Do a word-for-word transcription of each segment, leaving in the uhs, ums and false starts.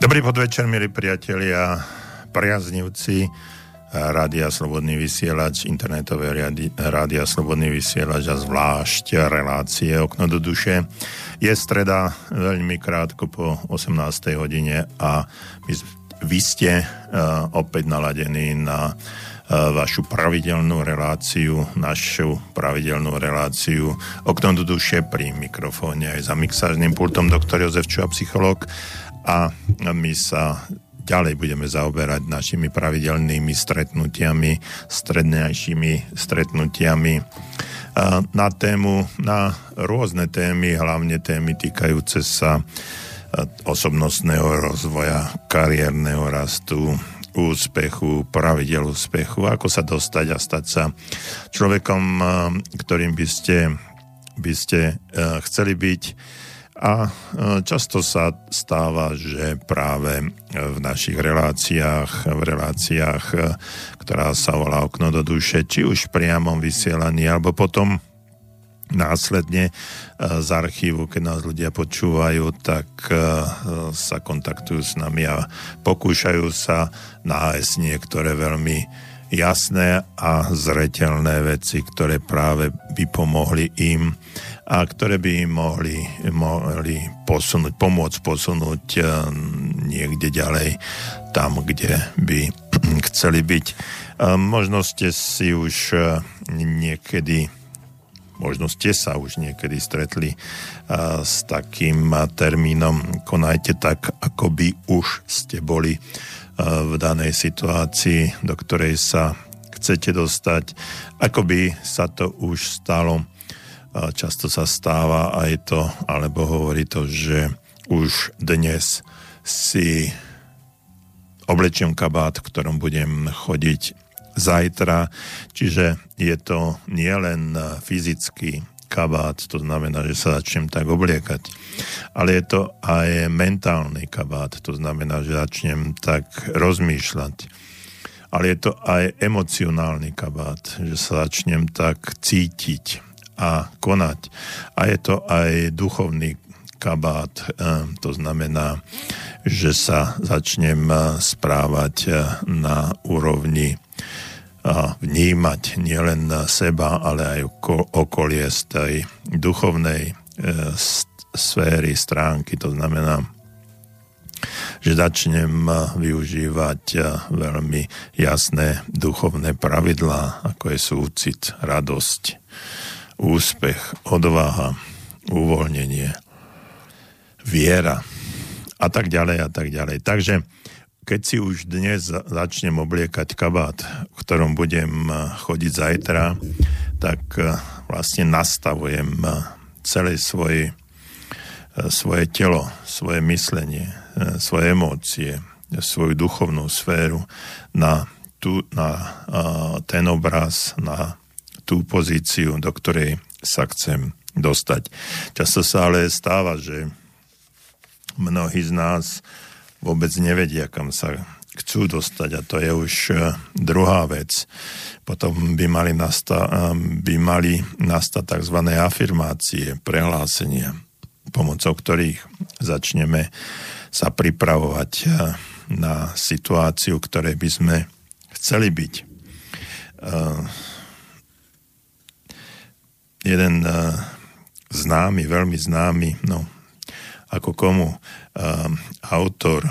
Dobrý podvečer, milí priatelia, priaznivci Rádia Slobodný vysielač, internetové Rádia Slobodný vysielač a zvlášť relácie Okno do duše. Je streda veľmi krátko po osemnástej hodine a vy, vy ste uh, opäť naladení na uh, vašu pravidelnú reláciu, našu pravidelnú reláciu Okno do duše, pri mikrofóne aj za mixážnym pultom doktor Jozef Čuha, psychológ. A my sa ďalej budeme zaoberať našimi pravidelnými stretnutiami, strednejšími stretnutiami na tému, na rôzne témy, hlavne témy týkajúce sa osobnostného rozvoja, kariérneho rastu, úspechu, pravidel úspechu, ako sa dostať a stať sa človekom, ktorým by ste, by ste chceli byť. A často sa stáva, že práve v našich reláciách, v reláciách, ktorá sa volá Okno do duše, či už v priamom vysielaní, alebo potom následne z archívu, keď nás ľudia počúvajú, tak sa kontaktujú s nami a pokúšajú sa nájsť niektoré veľmi jasné a zreteľné veci, ktoré práve by pomohli im a ktoré by im mohli, mohli posunúť, pomôcť posunúť niekde ďalej, tam, kde by chceli byť. Možno ste si už niekedy, možno ste sa už niekedy stretli s takým termínom konajte tak, ako by už ste boli v danej situácii, do ktorej sa chcete dostať, ako by sa to už stalo. Často sa stáva aj to, alebo hovorí to, že už dnes si oblečiem kabát, v ktorom budem chodiť zajtra. Čiže je to nielen fyzický kabát, to znamená, že sa začnem tak obliekať, ale je to aj mentálny kabát, to znamená, že začnem tak rozmýšľať. Ale je to aj emocionálny kabát, že sa začnem tak cítiť a konať. A je to aj duchovný kabát, to znamená, že sa začnem správať na úrovni a vnímať nielen seba, ale aj okolie z tej duchovnej sféry, stránky. To znamená, že začnem využívať veľmi jasné duchovné pravidlá, ako je súcit, radosť, úspech, odvaha, uvoľnenie, viera a tak ďalej a tak ďalej. Takže keď si už dnes začnem obliekať kabát, v ktorom budem chodiť zajtra, tak vlastne nastavujem celé svoje, svoje telo, svoje myslenie, svoje emócie, svoju duchovnú sféru na, tú, na ten obraz, na tú pozíciu, do ktorej sa chcem dostať. Často sa ale stáva, že mnohí z nás vôbec nevedia, kam sa chcú dostať, a to je už druhá vec. Potom by mali, nasta- by mali nastať tzv. Afirmácie, prehlásenia, pomocou ktorých začneme sa pripravovať na situáciu, ktorej by sme chceli byť. Jeden známy, veľmi známy, no ako komu, autor,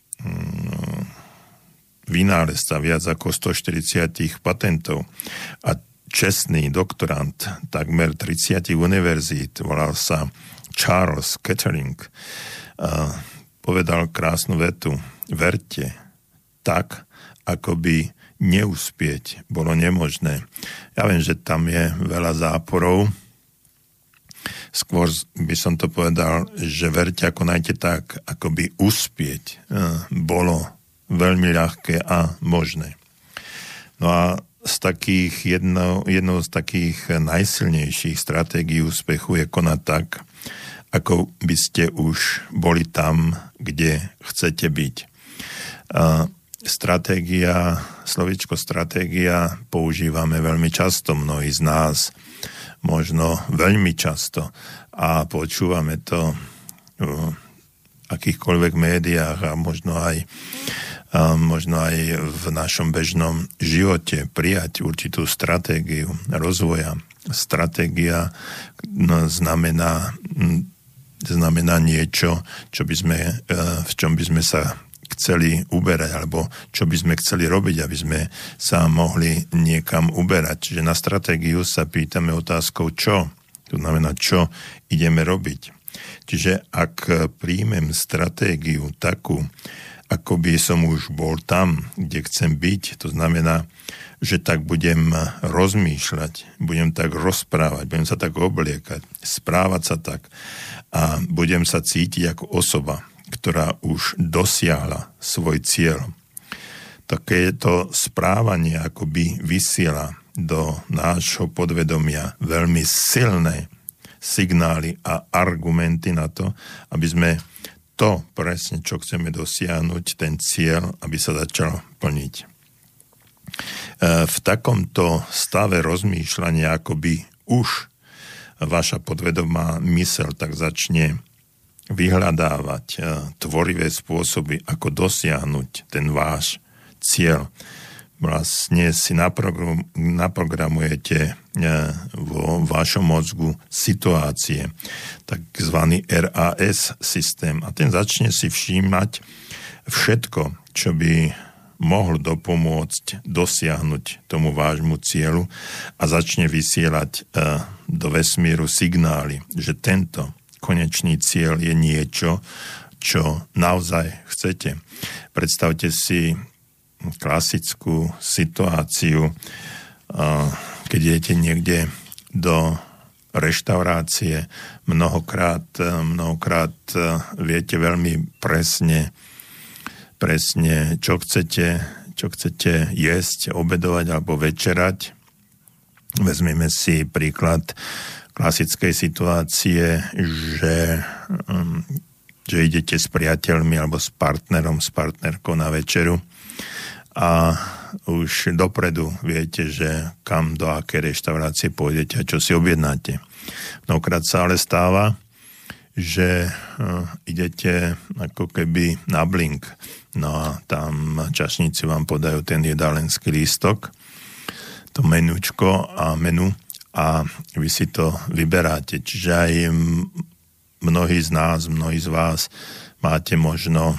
vynálezca viac ako stoštyridsať patentov a čestný doktorant takmer tridsať univerzít, volal sa Charles Kettering, povedal krásnu vetu: verte tak, ako by neúspieť bolo nemožné. Ja viem, že tam je veľa záporov. Skôr by som to povedal, že verte a konajte tak, ako by uspieť bolo veľmi ľahké a možné. No a z takých jedno, jednou z takých najsilnejších stratégií úspechu je konať tak, ako by ste už boli tam, kde chcete byť. A stratégia, slovíčko stratégia používame veľmi často, mnohí z nás, možno veľmi často, a počúvame to akýchkoľvek médiách a možno aj, a možno aj v našom bežnom živote prijať určitú stratégiu rozvoja. Stratégia no, znamená, znamená niečo, čo by sme, v čom by sme sa chceli uberať, alebo čo by sme chceli robiť, aby sme sa mohli niekam uberať. Čiže na stratégiu sa pýtame otázkou čo. To znamená, čo ideme robiť. Čiže ak príjmem stratégiu takú, ako by som už bol tam, kde chcem byť, to znamená, že tak budem rozmýšľať, budem tak rozprávať, budem sa tak obliekať, správať sa tak a budem sa cítiť ako osoba, ktorá už dosiahla svoj cieľ. Takéto správanie akoby vysiela do nášho podvedomia veľmi silné signály a argumenty na to, aby sme to presne, čo chceme dosiahnuť, ten cieľ, aby sa začal plniť. V takomto stave rozmýšľania akoby už vaša podvedomá myseľ tak začne vyhľadávať tvorivé spôsoby, ako dosiahnuť ten váš cieľ. Vlastne si naprogram, naprogramujete vo vašom mozgu situácie, takzvaný er á es systém. A ten začne si všímať všetko, čo by mohol dopomôcť dosiahnuť tomu vášmu cieľu a začne vysielať do vesmíru signály, že tento konečný cieľ je niečo, čo naozaj chcete. Predstavte si klasickú situáciu, keď idete niekde do reštaurácie, mnohokrát, mnohokrát viete veľmi presne, presne, čo chcete, čo chcete jesť, obedovať alebo večerať. Vezmeme si príklad klasickej situácie, že, že idete s priateľmi alebo s partnerom, s partnerkou na večeru a už dopredu viete, že kam, do aké reštaurácie pôjdete a čo si objednáte. Mnohokrát sa ale stáva, že idete ako keby na blink, no a tam čašníci vám podajú ten jedálenský lístok, to menúčko a menu, a vy si to vyberáte. Čiže aj mnohí z nás, mnohí z vás máte možno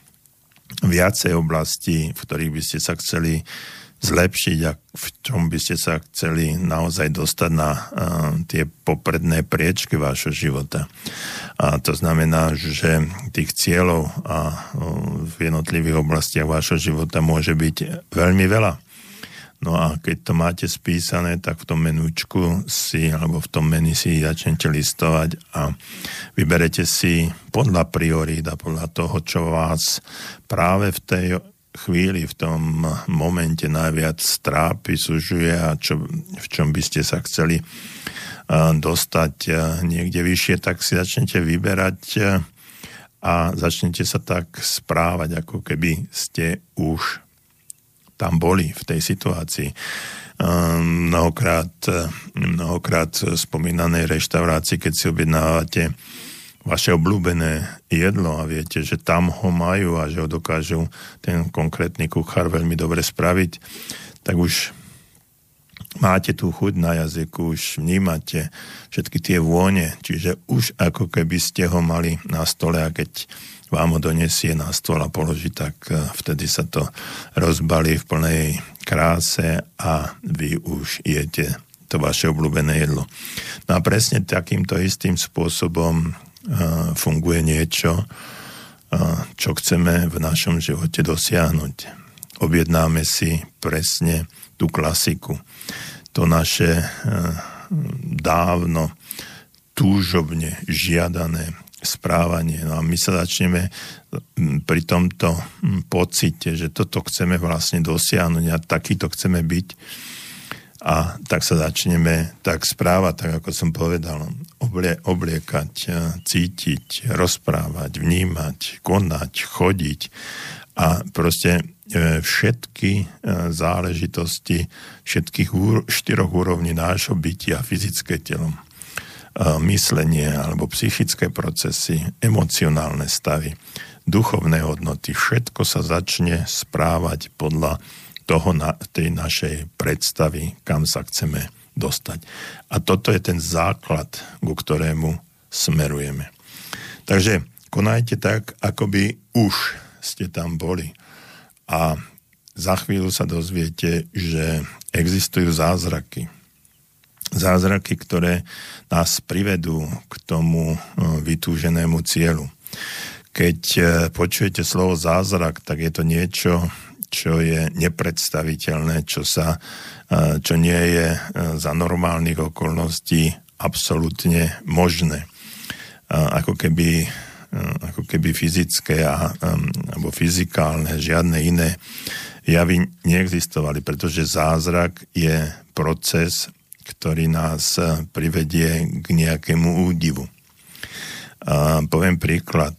viacej oblastí, v ktorých by ste sa chceli zlepšiť a v čom by ste sa chceli naozaj dostať na uh, tie popredné priečky vášho života. A to znamená, že tých cieľov a, uh, v jednotlivých oblastiach vášho života môže byť veľmi veľa. No a keď to máte spísané, tak v tom menúčku si, alebo v tom menu si začnete listovať a vyberete si podľa priorít a podľa toho, čo vás práve v tej chvíli, v tom momente najviac trápi, sužuje a čo, v čom by ste sa chceli dostať niekde vyššie, tak si začnete vyberať a začnete sa tak správať, ako keby ste už tam boli v tej situácii. Mnohokrát, mnohokrát spomínanej reštaurácii, keď si objednávate vaše obľúbené jedlo a viete, že tam ho majú a že ho dokážu ten konkrétny kuchár veľmi dobre spraviť, tak už máte tú chuť na jazyku, už vnímate všetky tie vône, čiže už ako keby ste ho mali na stole a keď vám ho donesie na stôl a položí, tak vtedy sa to rozbalí v plnej kráse a vy už jete to vaše obľúbené jedlo. No a presne takýmto istým spôsobom uh, funguje niečo, uh, čo chceme v našom živote dosiahnuť. Objednáme si presne tú klasiku. To naše uh, dávno túžobne žiadané správanie. No a my sa začneme pri tomto pocite, že toto chceme vlastne dosiahnuť a takýto chceme byť a tak sa začneme tak správať, tak ako som povedal, oblie, obliekať, cítiť, rozprávať, vnímať, konať, chodiť a proste všetky záležitosti všetkých štyroch úrovní nášho bytia, fyzické telo, myslenie alebo psychické procesy, emocionálne stavy, duchovné hodnoty, všetko sa začne správať podľa toho na, tej našej predstavy, kam sa chceme dostať. A toto je ten základ, ku ktorému smerujeme. Takže konajte tak, ako by už ste tam boli. A za chvíľu sa dozviete, že existujú zázraky. Zázraky, ktoré nás privedú k tomu vytúženému cieľu. Keď počujete slovo zázrak, tak je to niečo, čo je nepredstaviteľné, čo sa, čo nie je za normálnych okolností absolútne možné. Ako keby, ako keby fyzické a, alebo fyzikálne, žiadne iné javy neexistovali, pretože zázrak je proces, ktorý nás privedie k nejakému údivu. A poviem príklad.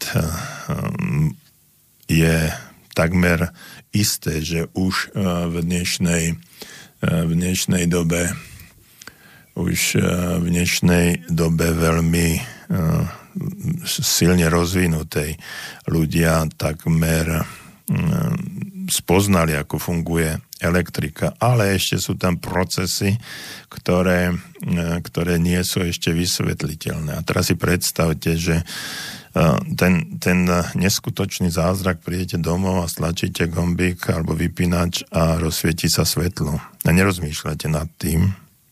Je takmer isté, že už v dnešnej, v dnešnej dobe už v dnešnej dobe veľmi silne rozvinutej ľudia takmer spoznali, ako funguje elektrika, ale ešte sú tam procesy, ktoré, ktoré nie sú ešte vysvetliteľné. A teraz si predstavte, že ten, ten neskutočný zázrak, prídete domov a stlačíte gombík alebo vypínač a rozsvieti sa svetlo. A nerozmýšľate nad tým,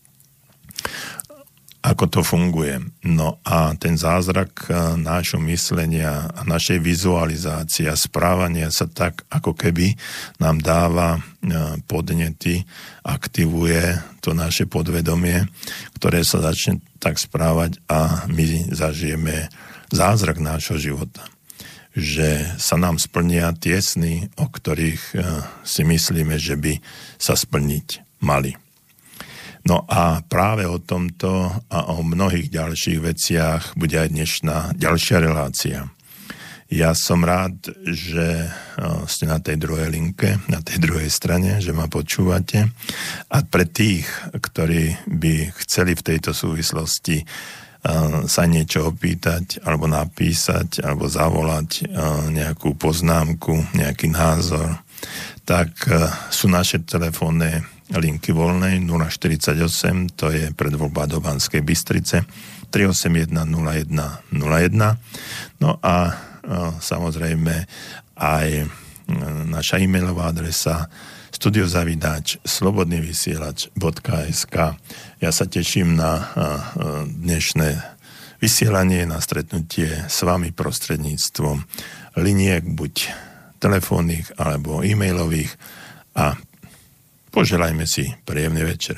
ako to funguje. No a ten zázrak nášho myslenia a našej vizualizácie a správania sa tak, ako keby nám dáva podnety, aktivuje to naše podvedomie, ktoré sa začne tak správať a my zažijeme zázrak nášho života. Že sa nám splnia tie sny, o ktorých si myslíme, že by sa splniť mali. No a práve o tomto a o mnohých ďalších veciach bude aj dnešná ďalšia relácia. Ja som rád, že ste na tej druhej linke, na tej druhej strane, že ma počúvate. A pre tých, ktorí by chceli v tejto súvislosti sa niečo opýtať, alebo napísať, alebo zavolať nejakú poznámku, nejaký názor, tak sú naše telefónne linky voľnej nula štyridsaťosem, to je predvoľba do Banskej Bystrice, tri osem jeden nula jeden nula jeden. No a samozrejme aj naša e-mailová adresa studiozavináč slobodnyvysielač bodka es ká. Ja sa teším na dnešné vysielanie, na stretnutie s vami prostredníctvom liniek, buď telefónnych alebo e-mailových, a poželajme si príjemný večer.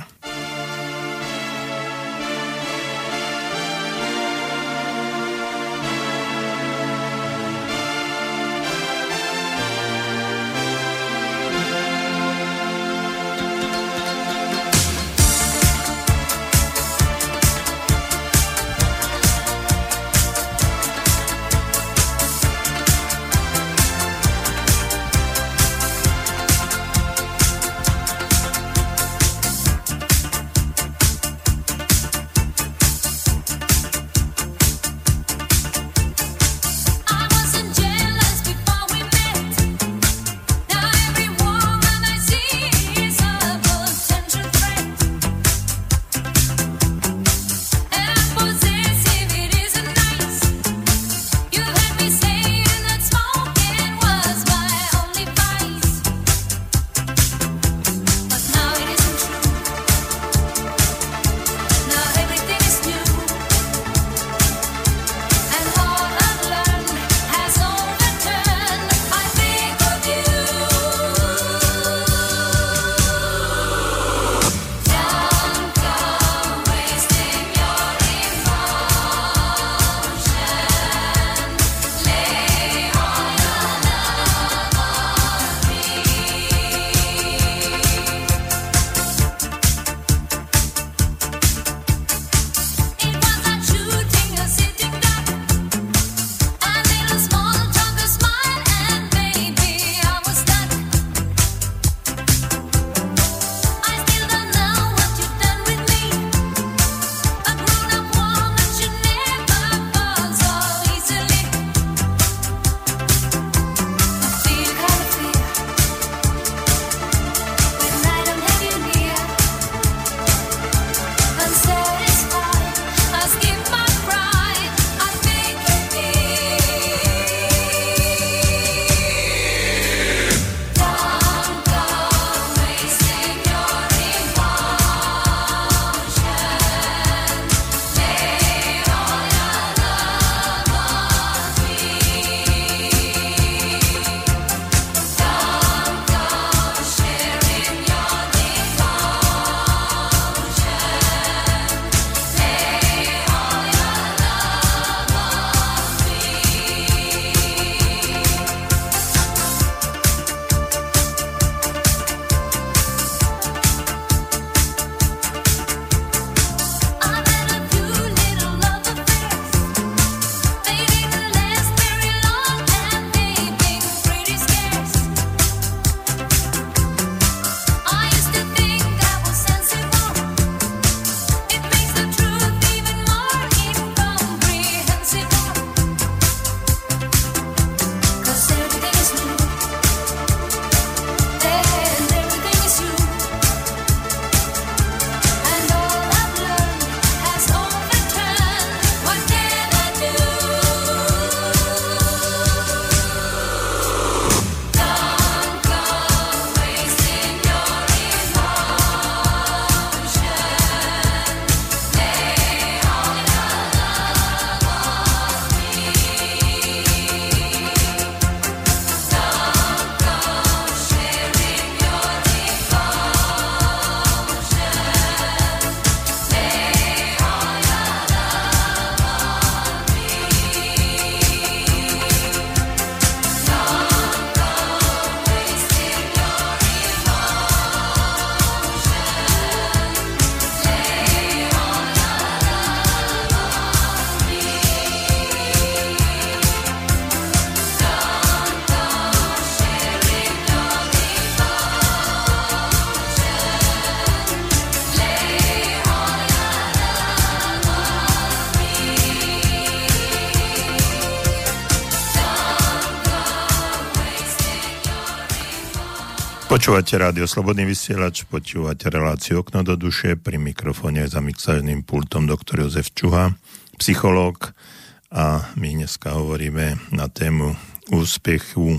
Počúvate rádio Slobodný vysielač, počúvate reláciu Okno do duše, pri mikrofóne za mixážnym pultom doktor Jozef Čuha, psychológ, a my dneska hovoríme na tému úspechu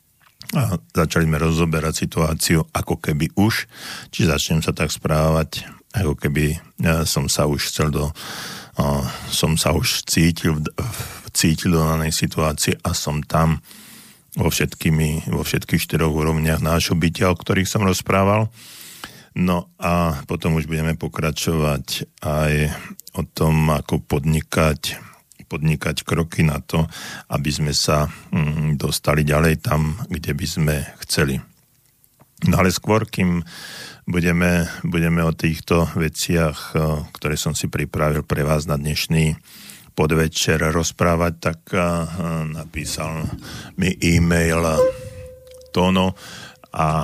a začali sme rozoberať situáciu ako keby už, či začnem sa tak správať, ako keby som sa už chcel do som sa už cítil cítil do danej situácie a som tam vo, všetkými, vo všetkých štyroch úrovniach nášho bytia, o ktorých som rozprával. No a potom už budeme pokračovať aj o tom, ako podnikať, podnikať kroky na to, aby sme sa mm, dostali ďalej tam, kde by sme chceli. No ale skôr, kým budeme, budeme o týchto veciach, ktoré som si pripravil pre vás na dnešný podvečer rozprávať, tak napísal mi e-mail Tono a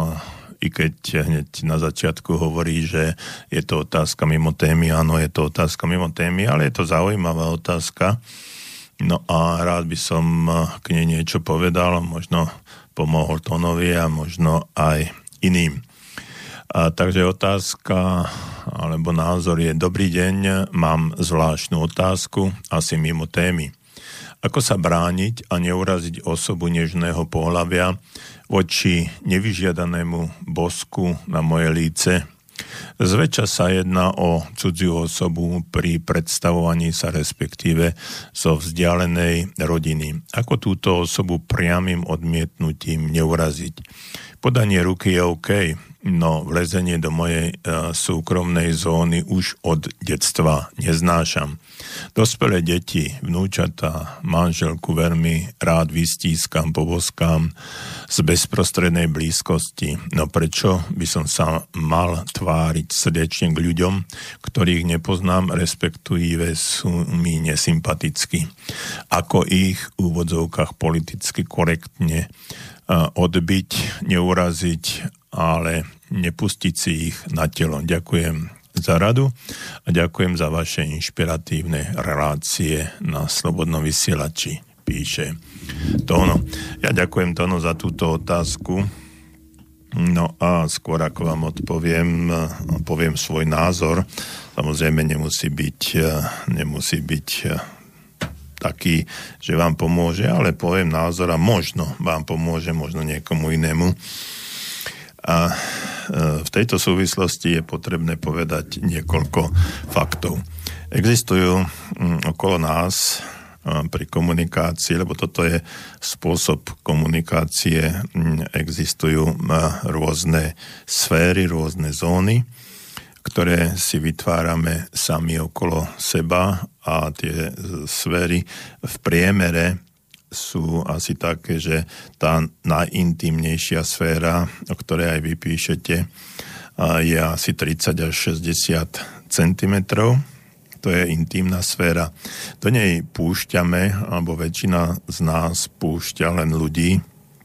i keď hneď na začiatku hovorí, že je to otázka mimo témy, áno, je to otázka mimo témy, ale je to zaujímavá otázka. No a rád by som k nej niečo povedal, možno pomohol Tonovi a možno aj iným. A takže otázka alebo názor je: dobrý deň, mám zvláštnu otázku, asi mimo témy. Ako sa brániť a neuraziť osobu nežného pohlavia voči nevyžiadanému bosku na moje líce? Zväčša sa jedná o cudziu osobu pri predstavovaní sa, respektíve zo vzdialenej rodiny. Ako túto osobu priamym odmietnutím neuraziť? Podanie ruky je OK, no vlezenie do mojej uh, súkromnej zóny už od detstva neznášam. Dospelé deti, vnúčatá, manželku veľmi rád vystískam, poboskám z bezprostrednej blízkosti. No prečo by som sa mal tváriť srdečne k ľuďom, ktorých nepoznám, respektíve sú mi nesympatickí? Ako ich v úvodzovkách politicky korektne odbiť, neuraziť, ale nepustiť si ich na telo. Ďakujem za radu a ďakujem za vaše inšpiratívne relácie na Slobodnom vysielači, píše Tono. Ja ďakujem, Tono, za túto otázku. No a skôr ako vám odpoviem, poviem svoj názor. Samozrejme nemusí byť, nemusí byť taký, že vám pomôže, ale poviem názor a možno vám pomôže, možno niekomu inému. A v tejto súvislosti je potrebné povedať niekoľko faktov. Existujú okolo nás pri komunikácii, lebo toto je spôsob komunikácie, existujú rôzne sféry, rôzne zóny, ktoré si vytvárame sami okolo seba, a tie sféry v priemere sú asi také, že tá najintímnejšia sféra, o ktorej aj vy píšete, je asi tridsať až šesťdesiat centimetrov. To je intímna sféra. Do nej púšťame, alebo väčšina z nás púšťa len ľudí,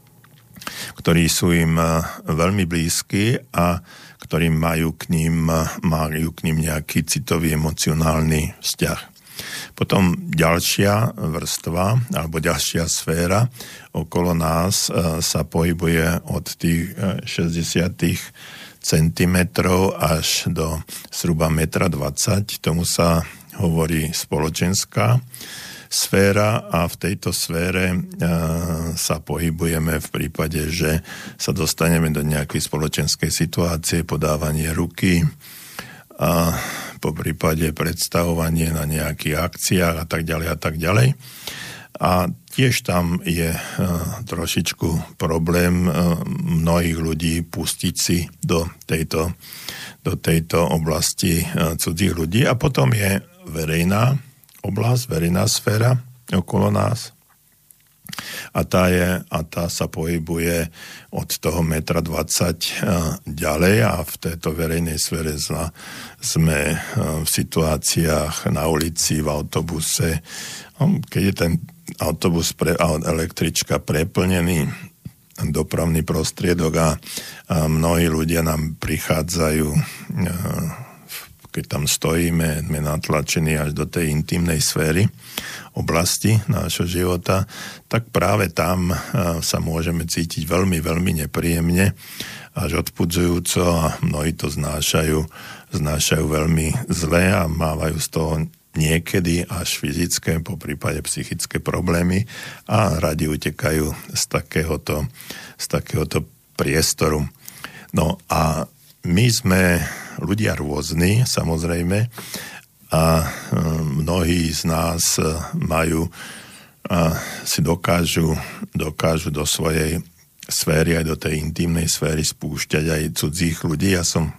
ktorí sú im veľmi blízki a ktorí majú k ním, majú k ním nejaký citový, emocionálny vzťah. Potom ďalšia vrstva, alebo ďalšia sféra okolo nás sa pohybuje od tých šesťdesiat centimetrov až do zhruba jeden dvadsať metra. Tomu sa hovorí spoločenská sféra a v tejto sfére e, sa pohybujeme v prípade, že sa dostaneme do nejakej spoločenskej situácie, podávanie ruky a po prípade predstavovanie na nejakých akciách a tak ďalej a tak ďalej. A tiež tam je e, trošičku problém e, mnohých ľudí pustiť si do tejto, do tejto oblasti e, cudzích ľudí. A potom je verejná oblasť, verejná sféra okolo nás. A tá, je, a tá sa pohybuje od toho jeden dvadsať metra ďalej a v tejto verejnej sfére sme v situáciách na ulici, v autobuse. Keď je ten autobus, pre, električka preplnený, dopravný prostriedok a, a mnohí ľudia nám prichádzajú k keď tam stojíme, sme natlačení až do tej intimnej sféry oblasti nášho života, tak práve tam sa môžeme cítiť veľmi, veľmi nepríjemne, až odpudzujúco a mnohí to znášajú, znášajú veľmi zle a mávajú z toho niekedy až fyzické, po prípade psychické problémy a radi utekajú z takéhoto, z takéhoto priestoru. No a my sme ľudia rôzni, samozrejme, a mnohí z nás majú, a si dokážu, dokážu do svojej sféry, aj do tej intimnej sféry spúšťať aj cudzích ľudí. Ja som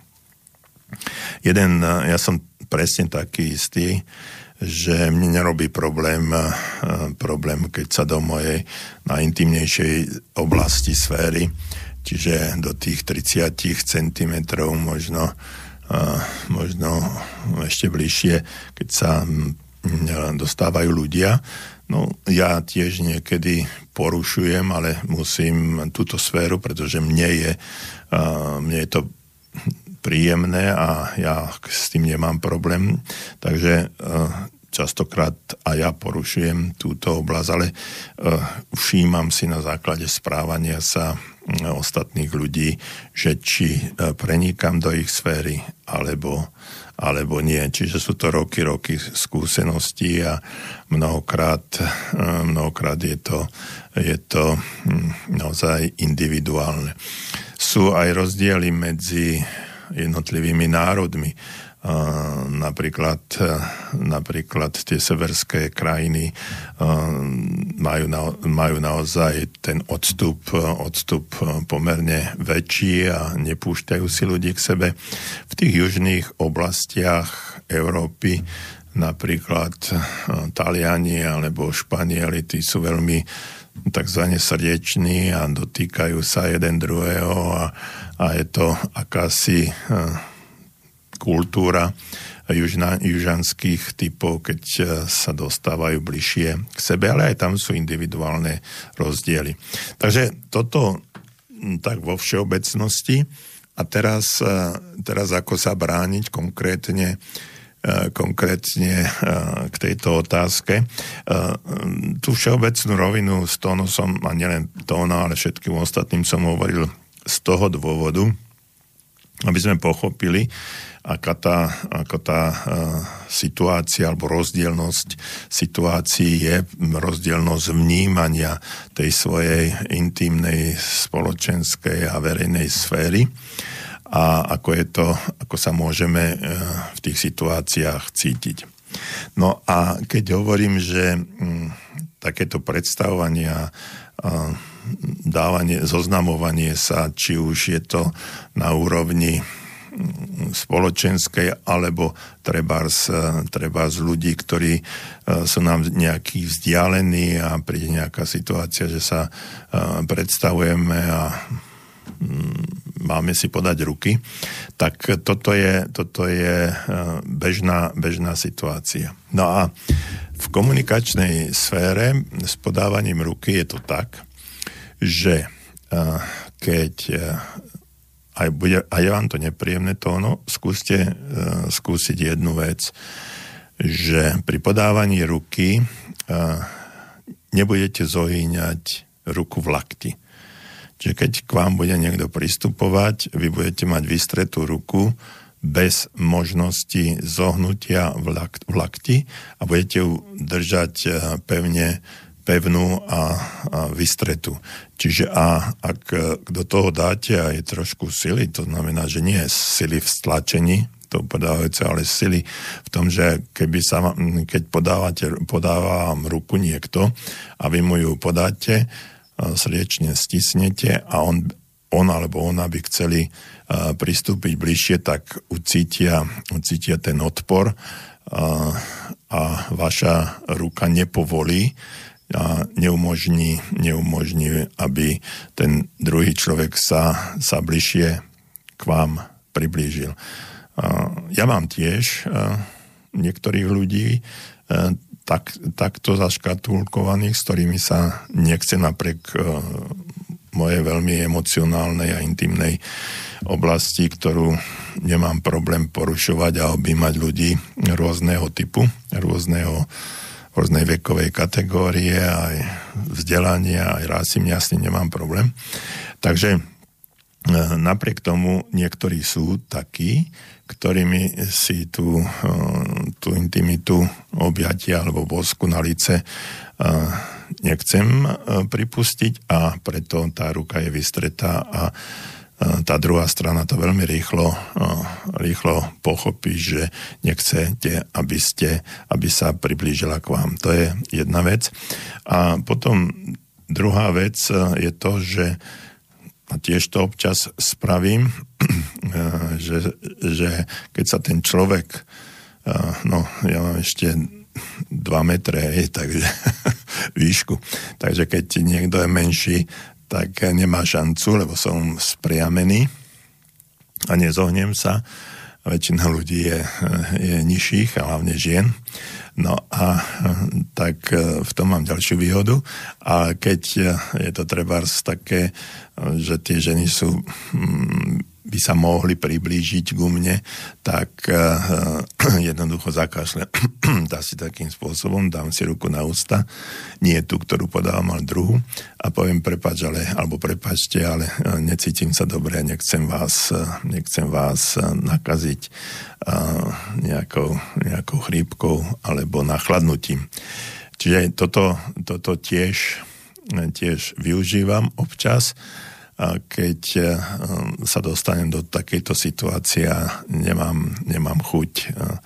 jeden, ja som presne taký istý, že mne nerobí problém, problém, keď sa do mojej najintimnejšej oblasti sféry, čiže do tých tridsať centimetrov, možno, možno ešte bližšie, keď sa dostávajú ľudia. No, ja tiež niekedy porušujem, ale musím túto sféru, pretože mne je, mne je to príjemné a ja s tým nemám problém. Takže častokrát aj ja porušujem túto oblasť, ale všímam si na základe správania sa ostatných ľudí, že či prenikam do ich sféry, alebo, alebo nie. Čiže sú to roky, roky skúseností a mnohokrát, mnohokrát je to, je to naozaj individuálne. Sú aj rozdiely medzi jednotlivými národmi. Uh, napríklad, uh, napríklad tie severské krajiny uh, majú, na, majú naozaj ten odstup, uh, odstup uh, pomerne väčší a nepúšťajú si ľudí k sebe. V tých južných oblastiach Európy napríklad uh, Taliani alebo Španieli, tí sú veľmi takzvané srdeční a dotýkajú sa jeden druhého a, a je to akási uh, kultúra južna, južanských typov, keď sa dostávajú bližšie k sebe, ale aj tam sú individuálne rozdiely. Takže toto tak vo všeobecnosti. A teraz, teraz ako sa brániť konkrétne, konkrétne k tejto otázke. Tú všeobecnú rovinu s tónosom, a nielen tóna, ale všetkým ostatným som hovoril z toho dôvodu, aby sme pochopili, aká tá, aká tá uh, situácia alebo rozdielnosť situácií je, rozdielnosť vnímania tej svojej intimnej, spoločenskej a verejnej sféry a ako je to, ako sa môžeme uh, v tých situáciách cítiť. No a keď hovorím, že um, takéto predstavovania uh, dávanie, zoznamovanie sa, či už je to na úrovni spoločenskej, alebo trebárs, trebárs ľudí, ktorí sú nám nejakí vzdialení a príde nejaká situácia, že sa predstavujeme a máme si podať ruky, tak toto je, toto je bežná, bežná situácia. No a v komunikačnej sfére s podávaním ruky je to tak, že keď aj, bude, aj vám to nepríjemné tóno, skúste uh, skúsiť jednu vec, že pri podávaní ruky uh, nebudete zohýňať ruku v lakti. Čiže keď k vám bude niekto pristupovať, vy budete mať vystretú ruku bez možnosti zohnutia v, lakt, v lakti a budete ju držať uh, pevne pevnú a, a vystretú. Čiže a ak do toho dáte aj trošku sily, to znamená, že nie je sily v stlačení, to podávajúce, ale sily v tom, že keby sa, keď podávate, podáva vám ruku niekto a vy mu ju podáte, srdečne stisnete a on, on alebo ona by chceli pristúpiť bližšie, tak ucítia, ucítia ten odpor a, a vaša ruka nepovolí a neumožní, neumožní, aby ten druhý človek sa, sa bližšie k vám priblížil. Ja mám tiež niektorých ľudí tak, takto zaškatulkovaných, s ktorými sa nechce napriek mojej veľmi emocionálnej a intimnej oblasti, ktorú nemám problém porušovať a objímať ľudí rôzneho typu, rôzneho, rôznej vekovej kategórie, aj vzdelania, aj rásy, jasne nemám problém. Takže napriek tomu niektorí sú takí, ktorými si tú, tú intimitu objatia alebo bosku na lice nechcem pripustiť a preto tá ruka je vystretá a tá druhá strana to veľmi rýchlo, rýchlo pochopí, že nechcete, aby, ste, aby sa priblížila k vám. To je jedna vec. A potom druhá vec je to, že a tiež to občas spravím, že, že keď sa ten človek, no ja mám ešte dva metre, takže výšku, takže keď niekto je menší, tak nemá šancu, lebo som spriamený a nezohnem sa. Väčšina ľudí je, je nižších, a hlavne žien. No a tak v tom mám ďalšiu výhodu. A keď je to trebárs také, že tie ženy sú, by sa mohli priblížiť ku mne, tak jednoducho zakašľam. Dá si takým spôsobom, dám si ruku na ústa, nie tú, ktorú podávam, ale druhú a poviem prepáč, ale, alebo prepáčte, ale necítim sa dobre a nechcem vás, nechcem vás nakaziť nejakou, nejakou chrípkou alebo nachladnutím. Čiže toto, toto tiež, tiež využívam občas, keď sa dostanem do takejto situácie a nemám, nemám chuť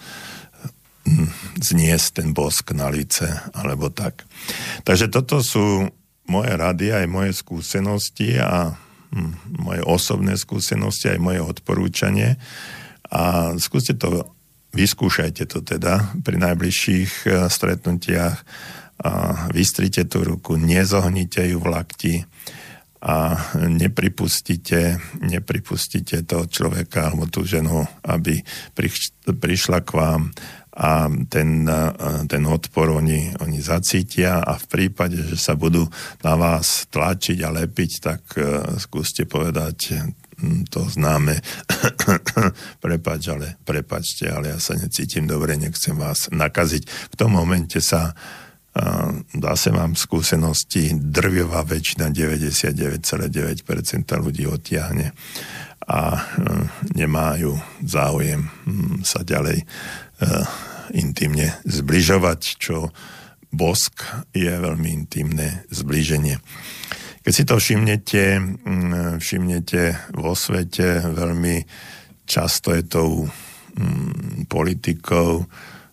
zniesť ten bosk na lice, alebo tak. Takže toto sú moje rady, aj moje skúsenosti a moje osobné skúsenosti, aj moje odporúčanie. A skúste to, vyskúšajte to teda pri najbližších stretnutiach. Vystrite tú ruku, nezohnite ju v lakti, a nepripustíte, nepripustíte toho človeka alebo tú ženu, aby prišla k vám a ten, ten odpor oni, oni zacítia a v prípade, že sa budú na vás tlačiť a lepiť, tak skúste povedať to známe prepáč, ale prepáčte, ale ja sa necítim dobre, nechcem vás nakaziť. V tom momente sa zase mám skúsenosti, drvivá väčšina, deväťdesiatdeväť celá deväť percent ľudí odtiahne a nemajú záujem sa ďalej intimne zbližovať, čo bosk je veľmi intimné zblíženie. Keď si to všimnete, všimnete vo svete, veľmi často je tou politikou,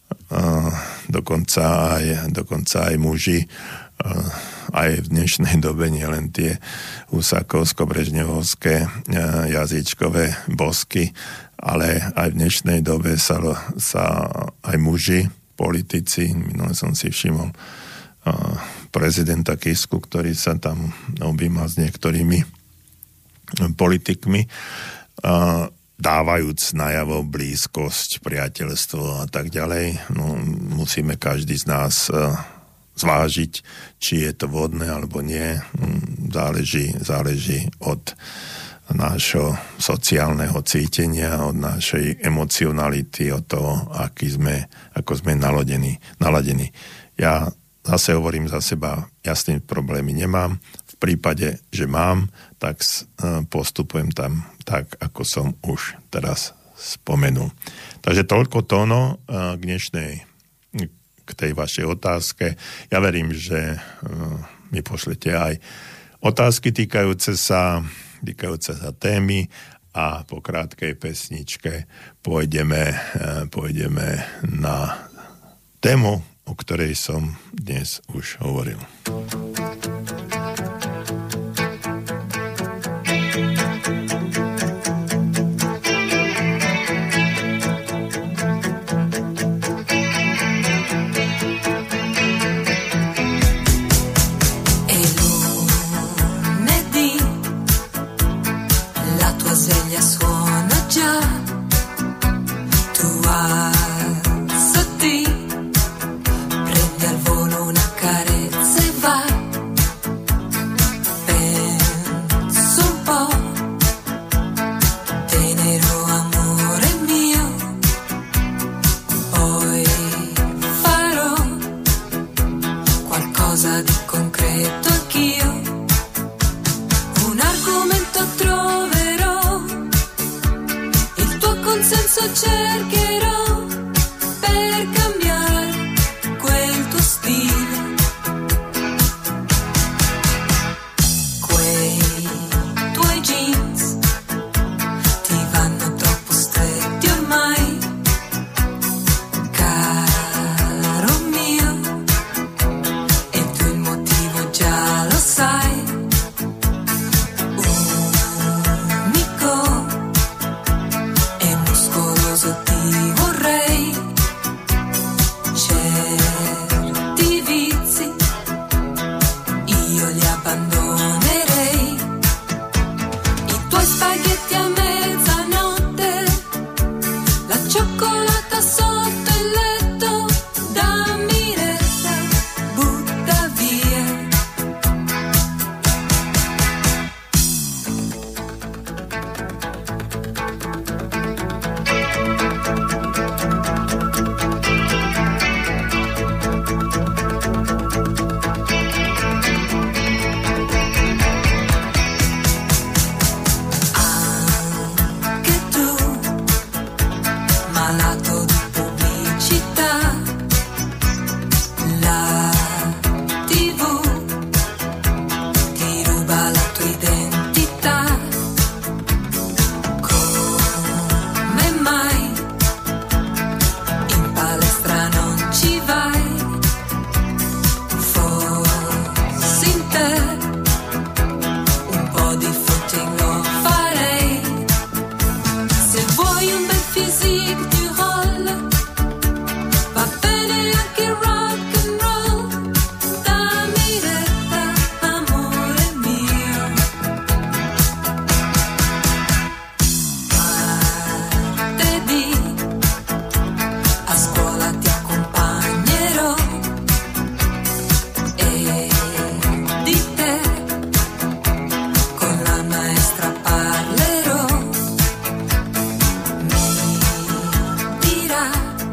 dokonca aj, dokonca aj muži, aj v dnešnej dobe nielen tie husákovsko-brežnevovské jazyčkové bosky, ale aj v dnešnej dobe sa, sa aj muži, politici, minule som si všimol prezidenta Kisku, ktorý sa tam objíma s niektorými politikmi, dávajúc najavo blízkosť, priateľstvo a tak ďalej. No, musíme každý z nás uh, zvážiť, či je to vhodné alebo nie. Záleží, záleží od nášho sociálneho cítenia, od našej emocionality, od toho, aký sme, ako sme naladení. naladení. Ja zase hovorím za seba, jasný problémy nemám. V prípade, že mám, tak postupujem tam tak, ako som už teraz spomenul. Takže toľko tóno k dnešnej, k tej vašej otázke. Ja verím, že mi pošlete aj otázky týkajúce sa, týkajúce sa témy a po krátkej pesničke pôjdeme, pôjdeme na tému, o ktorej som dnes už hovoril. Prendi al volo una carezza e vai. maestra parlerò, mi dirà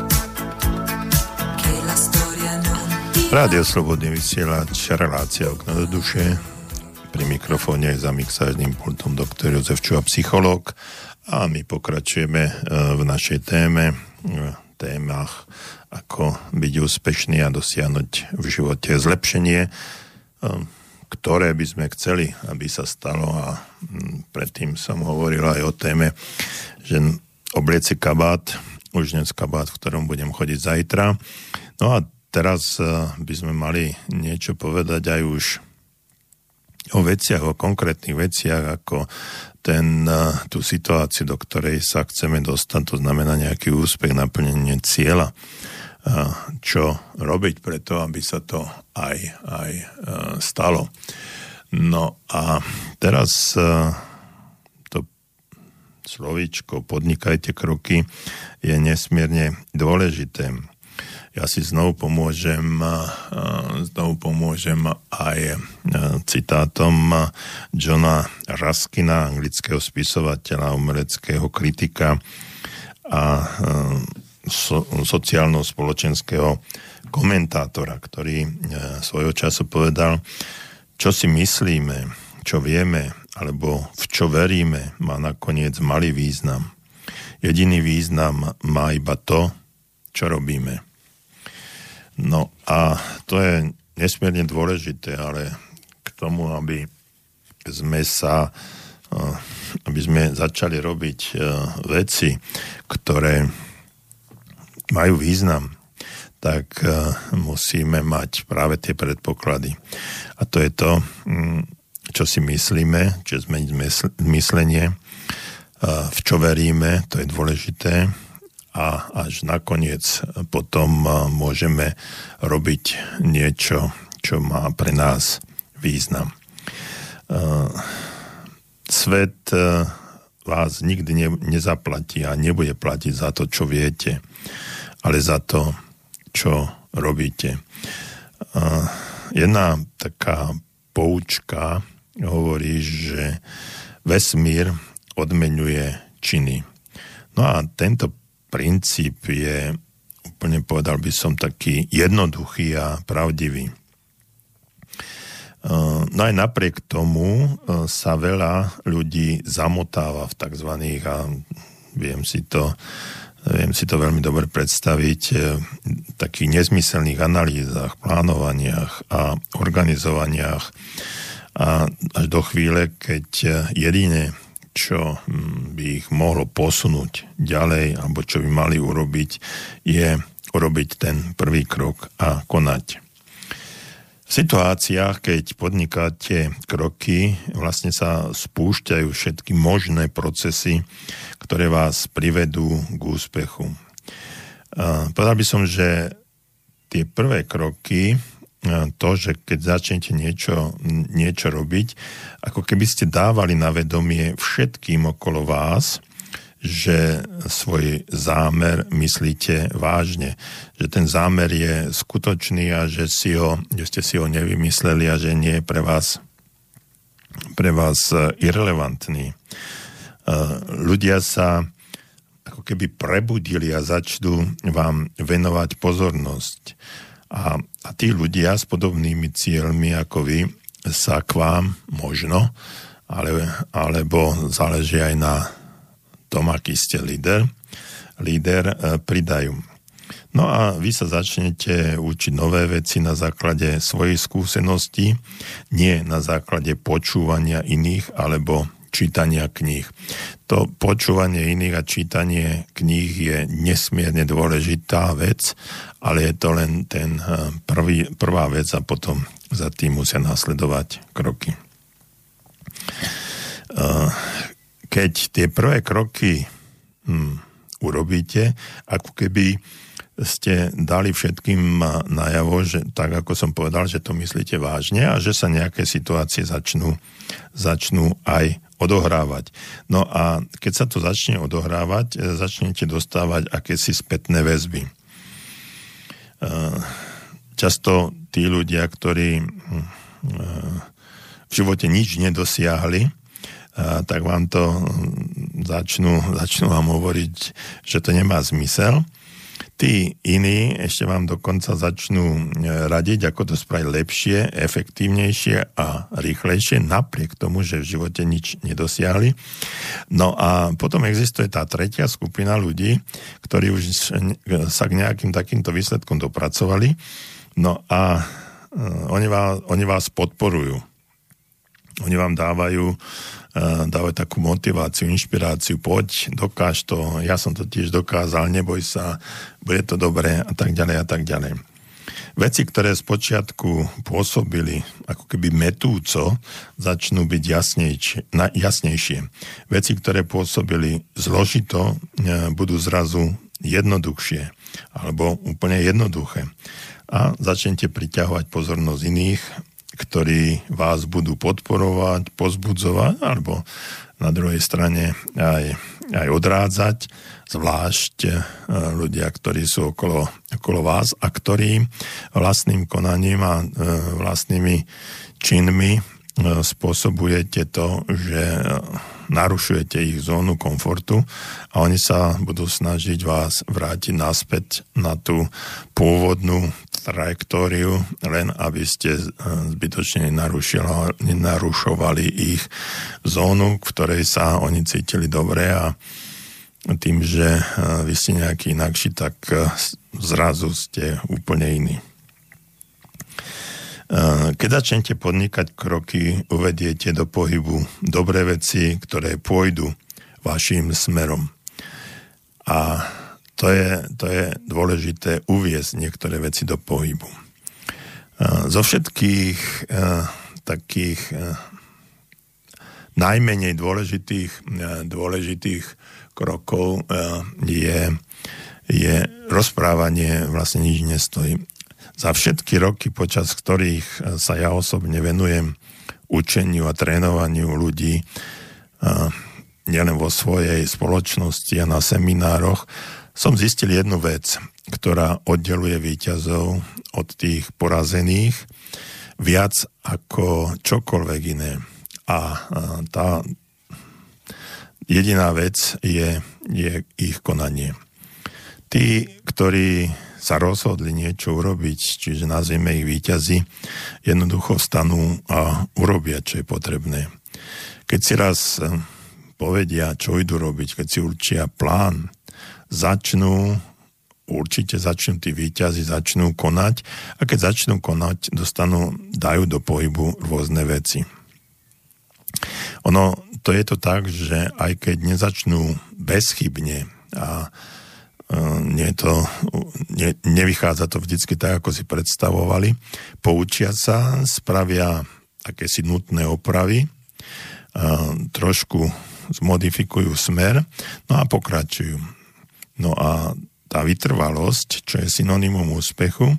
che la storia non ti... Rádio Slobodný vysielač, relácia Okno do duše. Pri mikrofóne je za mixážnym pultom doktor Jozef Čuha, psychológ. A my pokračujeme v našej téme, v témach ako byť úspešný a dosiahnuť v živote zlepšenie, ktoré by sme chceli, aby sa stalo. A predtým som hovoril aj o téme, že oblieci kabát, už dnes kabát, v ktorom budem chodiť zajtra. No a teraz by sme mali niečo povedať aj už o veciach, o konkrétnych veciach, ako ten, tú situáciu, do ktorej sa chceme dostať, to znamená nejaký úspech, naplnenie cieľa. Čo robiť preto, aby sa to aj, aj stalo. No a teraz to slovíčko podnikajte kroky je nesmierne dôležité. Ja si znovu pomôžem, znovu pomôžem aj citátom Johna Ruskina, anglického spisovateľa, umeleckého kritika a so, sociálno-spoločenského komentátora, ktorý svojho času povedal, čo si myslíme, čo vieme, alebo v čo veríme, má nakoniec malý význam. Jediný význam má iba to, čo robíme. No a to je nesmierne dôležité, ale k tomu, aby sme sa, aby sme začali robiť veci, ktoré majú význam, tak musíme mať práve tie predpoklady. A to je to, čo si myslíme, čiže zmeniť myslenie, v čo veríme, to je dôležité, a až nakoniec potom môžeme robiť niečo, čo má pre nás význam. Svet vás nikdy ne, nezaplatí a nebude platiť za to, čo viete, ale za to, čo robíte. Jedna taká poučka hovorí, že vesmír odmeňuje činy. No a tento princíp je, úplne povedal by som, taký jednoduchý a pravdivý. No aj napriek tomu sa veľa ľudí zamotáva v takzvaných, a viem si to, viem si to veľmi dobre predstaviť, takých nezmyselných analýzach, plánovaniach a organizovaniach a až do chvíle, keď jedine čo by ich mohlo posunúť ďalej, alebo čo by mali urobiť, je urobiť ten prvý krok a konať. V situáciách, keď podnikáte kroky, vlastne sa spúšťajú všetky možné procesy, ktoré vás privedú k úspechu. Povedal by som, že tie prvé kroky, to, že keď začnete niečo, niečo robiť, ako keby ste dávali na vedomie všetkým okolo vás, že svoj zámer myslíte vážne, že ten zámer je skutočný a že, si ho, že ste si ho nevymysleli a že nie je pre vás, pre vás irelevantný. Ľudia sa ako keby prebudili a začnú vám venovať pozornosť. A, a tí ľudia s podobnými cieľmi ako vy sa k vám možno, ale, alebo záleží aj na tom, aký ste líder, líder pridajú. No a vy sa začnete učiť nové veci na základe svojej skúsenosti, nie na základe počúvania iných alebo čítania kníh. To počúvanie iných a čítanie kníh je nesmierne dôležitá vec, ale je to len ten prvý, prvá vec a potom za tým musia nasledovať kroky. Keď tie prvé kroky hm, urobíte, ako keby ste dali všetkým najavo, že tak ako som povedal, že to myslíte vážne a že sa nejaké situácie začnú, začnú aj odohrávať. No a keď sa to začne odohrávať, začnete dostávať akési spätné väzby. Často tí ľudia, ktorí v živote nič nedosiahli, tak vám to začnú, začnú vám hovoriť, že to nemá zmysel. Tí iní ešte vám dokonca začnú radiť, ako to spraviť lepšie, efektívnejšie a rýchlejšie, napriek tomu, že v živote nič nedosiahli. No a potom existuje tá tretia skupina ľudí, ktorí už sa k nejakým takýmto výsledkom dopracovali. No a oni vás, oni vás podporujú. Oni vám dávajú, dávajú takú motiváciu, inšpiráciu, poď, dokáž to, ja som to tiež dokázal, neboj sa, bude to dobré a tak ďalej a tak ďalej. Veci, ktoré spočiatku pôsobili ako keby metúco, začnú byť jasnejšie, jasnejšie. Veci, ktoré pôsobili zložito, budú zrazu jednoduchšie alebo úplne jednoduché. A začnete priťahovať pozornosť iných, ktorí vás budú podporovať, pozbudzovať, alebo na druhej strane aj, aj odrádzať, zvlášť ľudia, ktorí sú okolo, okolo vás a ktorí vlastným konaním a vlastnými činmi spôsobujete to, že narušujete ich zónu komfortu a oni sa budú snažiť vás vrátiť naspäť na tú pôvodnú trajektóriu, len aby ste zbytočne nenarušovali ich zónu, v ktorej sa oni cítili dobre a tým, že vy ste nejaký inakší, tak zrazu ste úplne iní. Keď začnete podnikať kroky, uvediete do pohybu dobré veci, ktoré pôjdu vašim smerom. A to je, to je dôležité uviesť niektoré veci do pohybu. Zo všetkých takých najmenej dôležitých, dôležitých krokov je, je rozprávanie, vlastne nič nestojí. Za všetky roky, počas ktorých sa ja osobne venujem učeniu a trénovaniu ľudí, nielen vo svojej spoločnosti a na seminároch, som zistil jednu vec, ktorá oddeluje víťazov od tých porazených viac ako čokoľvek iné. A tá jediná vec je, je ich konanie. Tí, ktorí sa rozhodli niečo urobiť, čiže nazvime ich víťazi, jednoducho vstanú a urobia, čo je potrebné. Keď si raz povedia, čo idú robiť, keď si určia plán, začnú, určite začnú tí víťazi, začnú konať a keď začnú konať, dostanú, dajú do pohybu rôzne veci. Ono, to je to tak, že aj keď nezačnú bezchybne a nie to, ne, nevychádza to vždycky tak, ako si predstavovali, poučia sa, spravia akési nutné opravy, trošku zmodifikujú smer, no a pokračujú. No a tá vytrvalosť, čo je synonymum úspechu,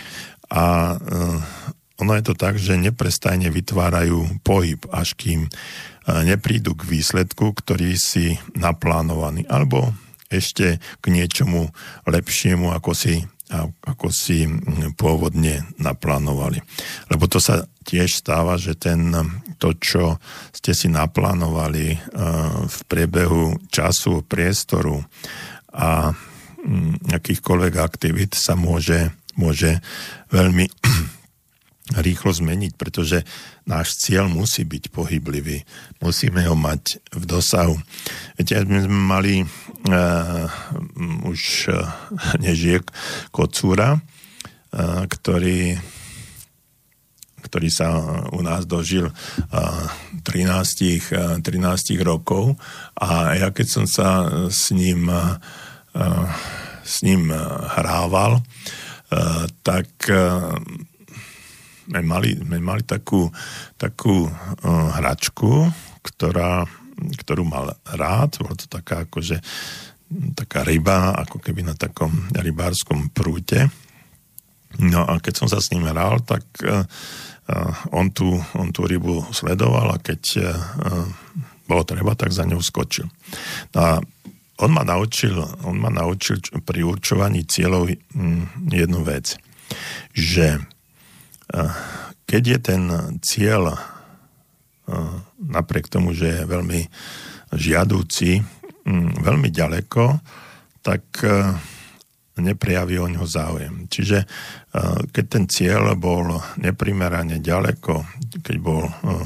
a ono je to tak, že neprestajne vytvárajú pohyb, až kým neprídu k výsledku, ktorý si naplánovaný, alebo ešte k niečomu lepšiemu, ako si, ako si pôvodne naplánovali. Lebo to sa tiež stáva, že ten, to, čo ste si naplánovali v priebehu času, priestoru a akýchkoľvek aktivít sa môže, môže veľmi rýchlo zmeniť, pretože náš cieľ musí byť pohyblivý. Musíme ho mať v dosahu. Viete, my sme mali uh, už uh, nežije kocúra, uh, ktorý, ktorý sa u nás dožil uh, trinásť rokov a ja keď som sa s ním, uh, s ním hrával, uh, tak uh, My mali, my mali takú, takú uh, hračku, ktorá, ktorú mal rád. Bola to taká akože taká ryba, ako keby na takom rybárskom prúte. No a keď som sa s ním hral, tak uh, uh, on, tú, on tú rybu sledoval a keď uh, bolo treba, tak za ňou skočil. No a on ma naučil, on ma naučil pri určovaní cieľov um, jednu vec, že keď je ten cieľ napriek tomu, že je veľmi žiadúci, veľmi ďaleko, tak neprejaví o ňo záujem. Čiže keď ten cieľ bol neprimerane ďaleko, keď bol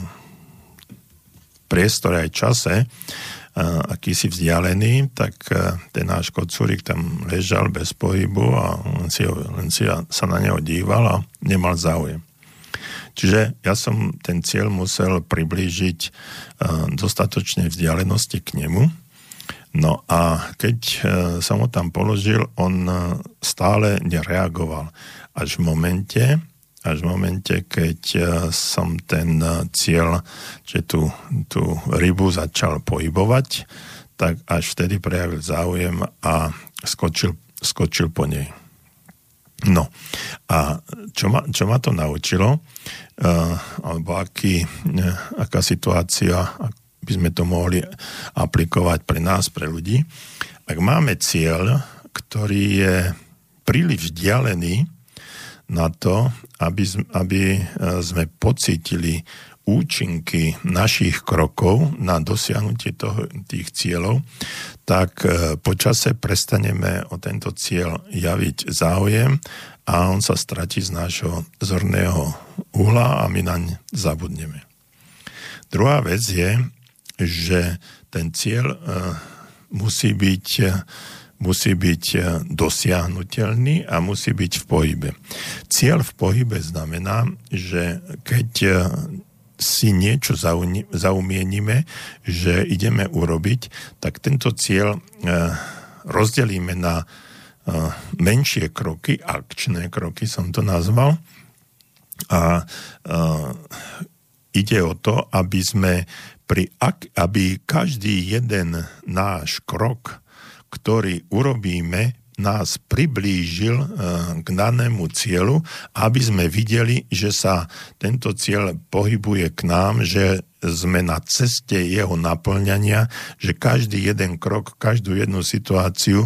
priestore aj čase akýsi vzdialený, tak ten náš kocúrik tam ležal bez pohybu a len si, len si sa na neho díval a nemal záujem. Čiže ja som ten cieľ musel priblížiť dostatočnej vzdialenosti k nemu. No a keď som ho tam položil, on stále nereagoval. Až v momente, až v momente, keď som ten cieľ, že tú, tú rybu začal pohybovať, tak až vtedy prejavil záujem a skočil, skočil po nej. No a čo ma, čo ma to naučilo, uh, alebo aký, uh, aká situácia, by sme to mohli aplikovať pre nás, pre ľudí. Ak máme cieľ, ktorý je príliš vzdialený na to, aby, aby sme pocítili účinky našich krokov na dosiahnutie toho, tých cieľov, tak po čase prestaneme o tento cieľ javiť záujem a on sa stratí z nášho zorného uhla a my naň zabudneme. Druhá vec je, že ten cieľ musí byť, musí byť dosiahnuteľný a musí byť v pohybe. Cieľ v pohybe znamená, že keď si niečo zaumienime, že ideme urobiť, tak tento cieľ rozdelíme na menšie kroky, akčné kroky som to nazval. A ide o to, aby sme pri, aby každý jeden náš krok, ktorý urobíme, nás priblížil k danému cieľu, aby sme videli, že sa tento cieľ pohybuje k nám, že sme na ceste jeho naplňania, že každý jeden krok, každú jednu situáciu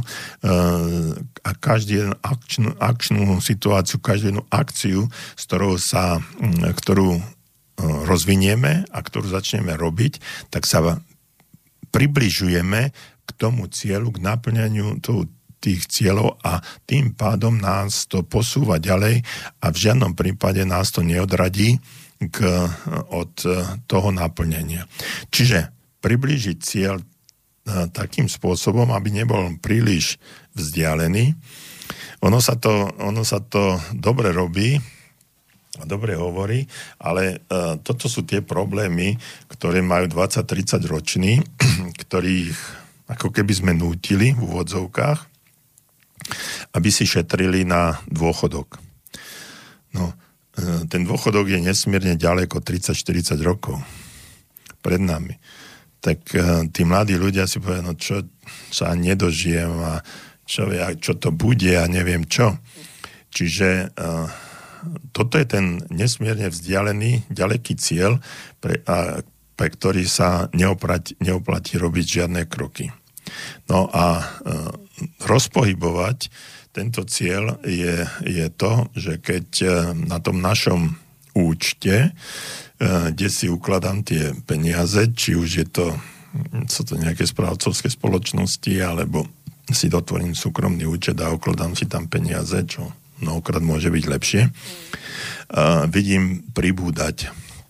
a každú jednu akčnú, akčnú situáciu, každú jednu akciu, s ktorou sa, ktorú rozvinieme a ktorú začneme robiť, tak sa približujeme k tomu cieľu, k naplňaniu toho tých cieľov a tým pádom nás to posúva ďalej a v žiadnom prípade nás to neodradí k, od toho naplnenia. Čiže priblížiť cieľ takým spôsobom, aby nebol príliš vzdialený. Ono sa to, ono sa to dobre robí a dobre hovorí, ale uh, toto sú tie problémy, ktoré majú dvadsať tridsať roční, ktorých ako keby sme nútili v úvodzovkách, aby si šetrili na dôchodok. No, ten dôchodok je nesmierne ďaleko, tridsať štyridsať rokov pred nami. Tak tí mladí ľudia si povedia, no čo sa nedožijem a čo, čo to bude a neviem čo. Čiže uh, toto je ten nesmierne vzdialený, ďaleký cieľ, pre, a, pre ktorý sa neoplatí, neoplatí robiť žiadne kroky. No a uh, rozpohybovať tento cieľ je, je to, že keď na tom našom účte, kde si ukladám tie peniaze, či už je to, sú to nejaké správcovské spoločnosti, alebo si dotvorím súkromný účet a ukladám si tam peniaze, čo mnohokrát môže byť lepšie, vidím pribúdať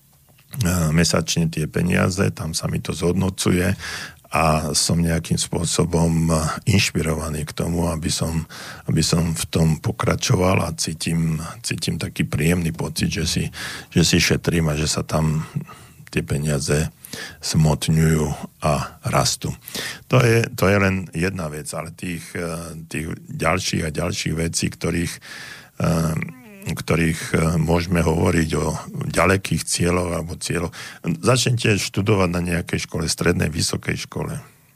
mesačne tie peniaze, tam sa mi to zhodnocuje a som nejakým spôsobom inšpirovaný k tomu, aby som, aby som v tom pokračoval a cítim, cítim taký príjemný pocit, že si, že si šetrím a že sa tam tie peniaze smotňujú a rastú. To je, to je len jedna vec, ale tých, tých ďalších a ďalších vecí, ktorých ktorých môžeme hovoriť o ďalekých cieľoch alebo cieľoch. Začnite študovať na nejakej škole, strednej, vysokej škole.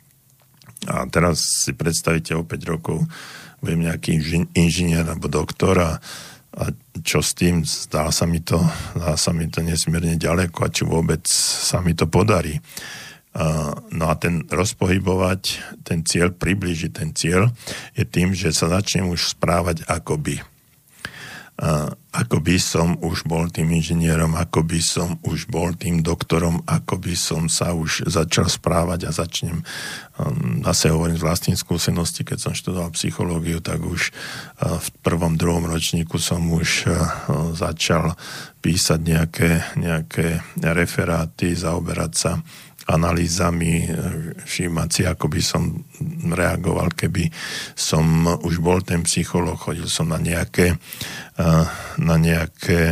A teraz si predstavíte o päť rokov, budem nejaký inžinier alebo doktor a, a čo s tým? Zdá sa mi to, zdá sa mi to nesmierne ďaleko a či vôbec sa mi to podarí. Uh, no a ten rozpohybovať, ten cieľ, priblížiť ten cieľ je tým, že sa začnem už správať akoby. Uh, ako by som už bol tým inžinierom, ako by som už bol tým doktorom, ako by som sa už začal správať a začnem, zase hovorím z vlastnej skúsenosti, keď som študoval psychológiu, tak už v prvom, druhom ročníku som už začal písať nejaké, nejaké referáty, zaoberať sa analýzami, všímať si, ako by som reagoval, keby som už bol ten psychológ, chodil som na nejaké, na nejaké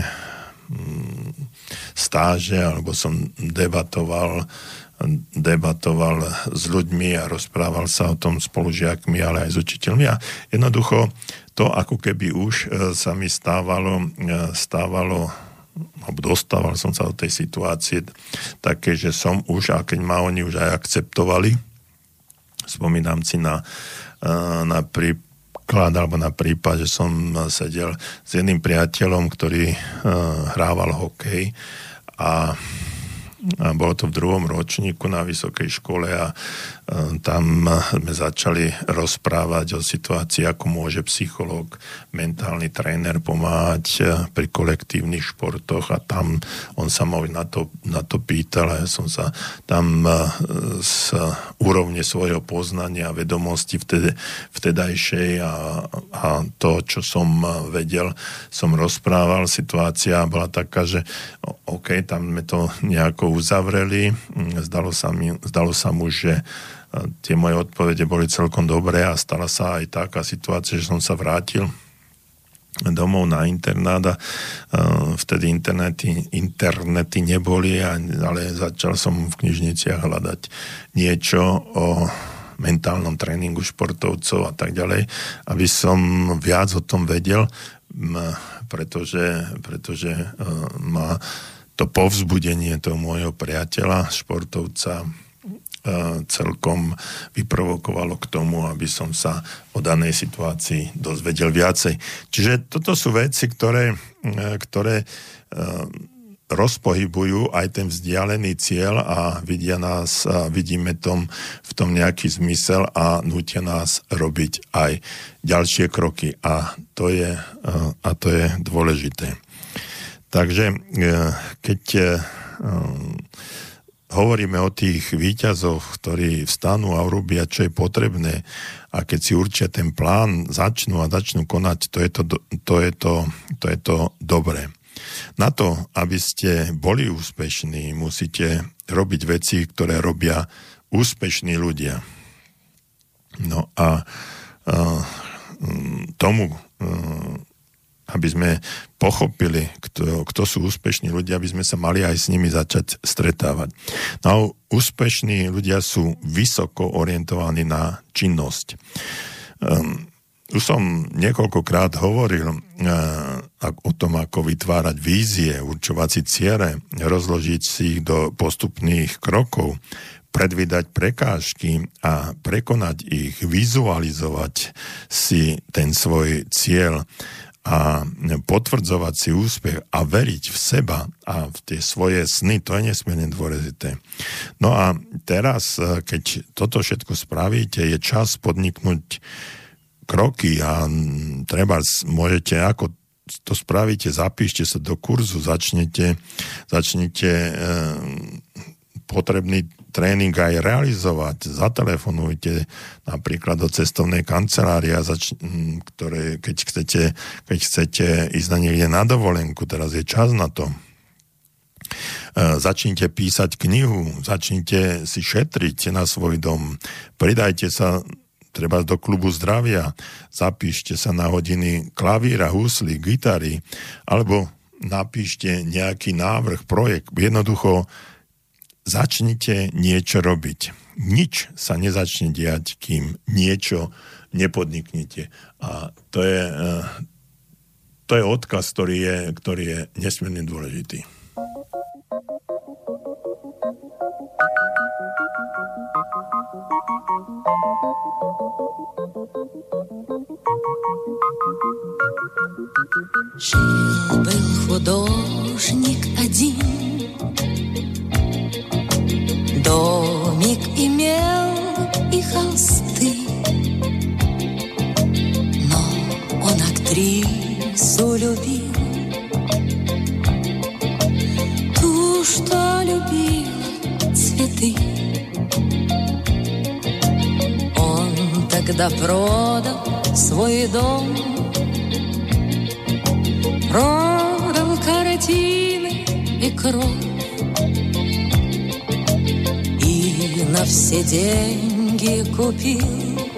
stáže, alebo som debatoval, debatoval s ľuďmi a rozprával sa o tom spolužiakmi, ale aj s učiteľmi. A jednoducho to, ako keby už sa mi stávalo, stávalo alebo dostával som sa do tej situácie také, že som už, a keď ma oni už aj akceptovali, spomínam si na, na príklad alebo na prípad, že som sedel s jedným priateľom, ktorý hrával hokej a a bolo to v druhom ročníku na vysokej škole a tam sme začali rozprávať o situácii, ako môže psychológ, mentálny tréner pomáhať pri kolektívnych športoch a tam on sa ma na to, na to pýtal a ja som sa tam z úrovne svojho poznania a vedomosti vtedy, vtedajšej a, a to, čo som vedel, som rozprával. Situácia bola taká, že OK, tam sme to nejako uzavreli. Zdalo sa, mi, zdalo sa mu, že tie moje odpovede boli celkom dobré a stala sa aj taká situácia, že som sa vrátil domov na internát a vtedy internety, internety neboli, ale začal som v knižniciach hľadať niečo o mentálnom tréningu športovcov a tak ďalej, aby som viac o tom vedel, pretože, pretože ma to povzbudenie toho môjho priateľa, športovca, celkom vyprovokovalo k tomu, aby som sa o danej situácii dozvedel viacej. Čiže toto sú veci, ktoré, ktoré rozpohybujú aj ten vzdialený cieľ a vidia nás, a vidíme tom, v tom nejaký zmysel a nútia nás robiť aj ďalšie kroky. A to je, a to je dôležité. Takže keď hovoríme o tých víťazoch, ktorí vstanú a urobia, čo je potrebné a keď si určia ten plán, začnú a začnú konať, to je to, to, je to, to, je to dobré. Na to, aby ste boli úspešní, musíte robiť veci, ktoré robia úspešní ľudia. No a, a tomu, aby sme pochopili, kto, kto sú úspešní ľudia, aby sme sa mali aj s nimi začať stretávať. No, úspešní ľudia sú vysoko orientovaní na činnosť. Um, už som niekoľkokrát hovoril uh, o tom, ako vytvárať vízie, určovať si ciele, rozložiť si ich do postupných krokov, predvídať prekážky a prekonať ich, vizualizovať si ten svoj cieľ a potvrdzovať si úspech a veriť v seba a v tie svoje sny, to je nesmierne dôležité. No a teraz, keď toto všetko spravíte, je čas podniknúť kroky a treba, môžete, ako to spravíte, zapíšte sa do kurzu, začnete, začnete e, potrebný tréning aj realizovať, zatelefonujte napríklad do cestovnej kancelárie, zač- ktoré, keď chcete, keď chcete ísť na niekde na dovolenku, teraz je čas na to. E, začnite písať knihu, začnite si šetriť na svoj dom, pridajte sa treba do klubu zdravia, zapíšte sa na hodiny klavíra, husly, gitary, alebo napíšte nejaký návrh, projekt. Jednoducho začnite niečo robiť. Nič sa nezačne diať, kým niečo nepodniknete. A to je, to je odkaz, ktorý je, ktorý je nesmierne dôležitý. Жил-был художник один, домик имел и холсты, но он актрису любил цветы. Он тогда продал свой дом, продал картины и кровь, и на все деньги купил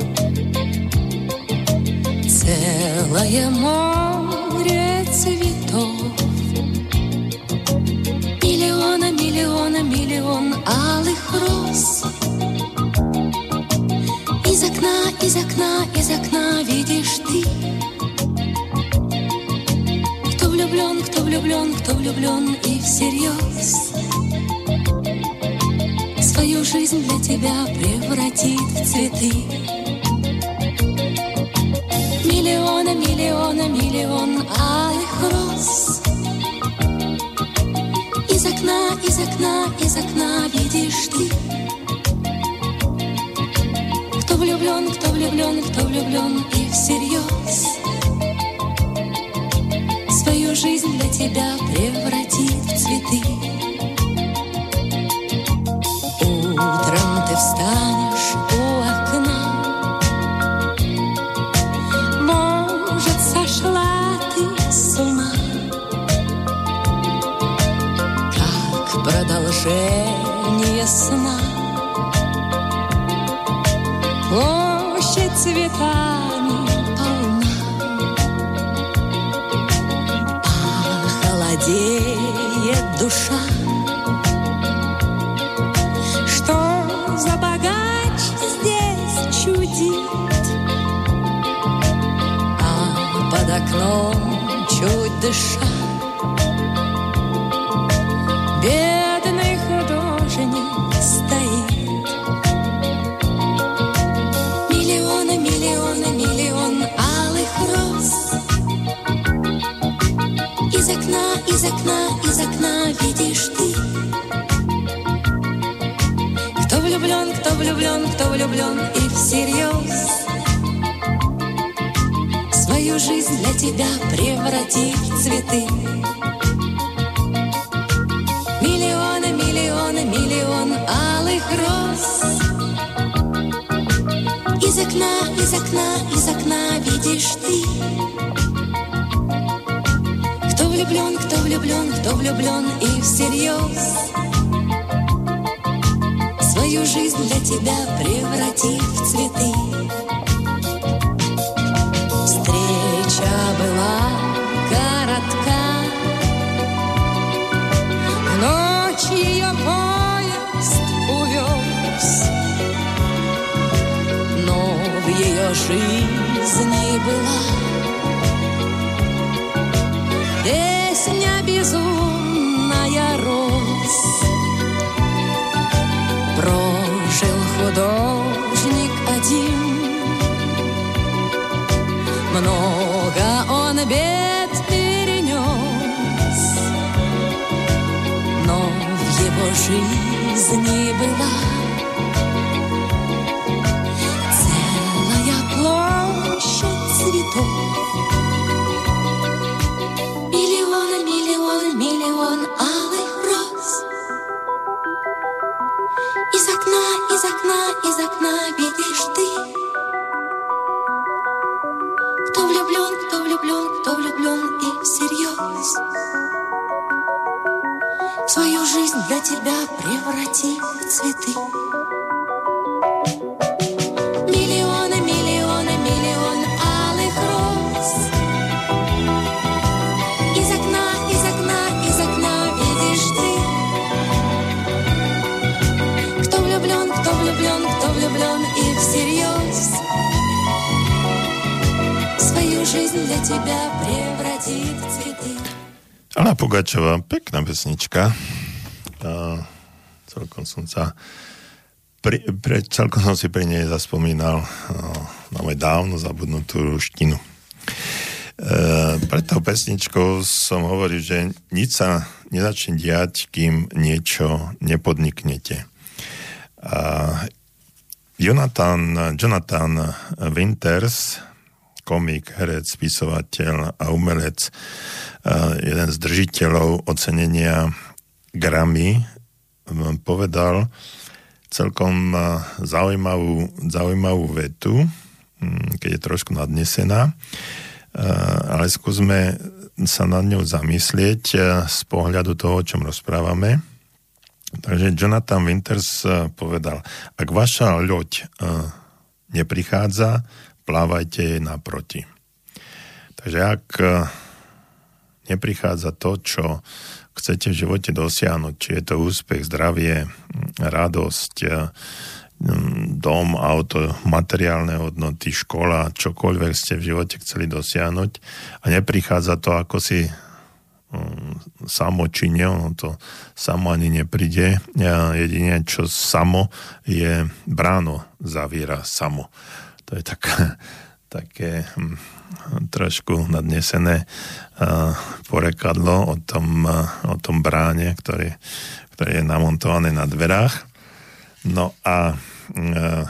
целое море цветов. Миллиона, миллиона, миллион алых роз. Из окна, из окна, из окна видишь ты. Кто влюблен, кто влюблен, кто влюблен и всерьез свою жизнь для тебя превратит в цветы. Миллиона, миллиона, миллион алых роз. Из окна, из окна, из окна видишь ты. Кто влюблен, кто влюблен, кто влюблен и всерьез свою жизнь для тебя превратит в цветы. Утром ты встанешь у окна, может, сошла ты с ума, как продолжение сна. Площадь цветами полна, а холодеет душа. Что за богач здесь чудит, а под окном чуть дыша бедный художник стоит. Миллионы, миллионы, миллион алых роз. Из окна, из окна, из окна видишь ты. Кто влюблен, кто влюблен, кто влюблен и всерьез свою жизнь для тебя превратит в цветы. Миллионы, миллионы, миллион алых роз. Из окна, из окна, из окна видишь ты. Кто влюблен, кто влюблен, кто влюблен и всерьез свою жизнь для тебя превратит в цветы. Встреча была коротка, в ночь ее поезд увез, но в ее жизни была песня безумная роз. Прожил художник один, много он бед перенес, но в его жизни была целая площадь цветов. Миллион, миллион, миллион алых роз. Из окна, из окна, из окна видишь ты. Кто влюблен, кто влюблен, кто влюблен и всерьез свою жизнь для тебя преврати в цветы. Миллионы, миллионы, миллион алых роз. Из окна, из окна, из окна видишь ты. Кто влюблен, кто влюблен, кто влюблен и всерьез свою жизнь для тебя превратит в цветы. Anna Pugačová, pekná pesnička. A celkom som sa pri, pre, celkom som si pri nej zaspomínal na moju dávno zabudnutú ruštinu. E, pred tou pesničkou som hovoril, že nič sa nezačne diať, kým niečo nepodniknete. A Jonathan, Jonathan Winters, komik, herec, spisovateľ a umelec, jeden z držiteľov ocenenia Grammy povedal celkom zaujímavú, zaujímavú vetu, keď je trošku nadnesená, ale skúsme sa nad ňou zamyslieť z pohľadu toho, o čom rozprávame. Takže Jonathan Winters povedal, ak vaša loď neprichádza, plávajte jej naproti. Takže ak neprichádza to, čo chcete v živote dosiahnuť, či je to úspech, zdravie, radosť, dom, auto, materiálne hodnoty, škola, čokoľvek ste v živote chceli dosiahnuť a neprichádza to, ako si samo činia, ono to samo ani nepríde. Jedine, čo samo je bráno, zaviera samo. To je taká, také hm, trošku nadnesené uh, porekadlo o tom, uh, o tom bráne, ktorý, ktorý je namontované na dverách. No a uh,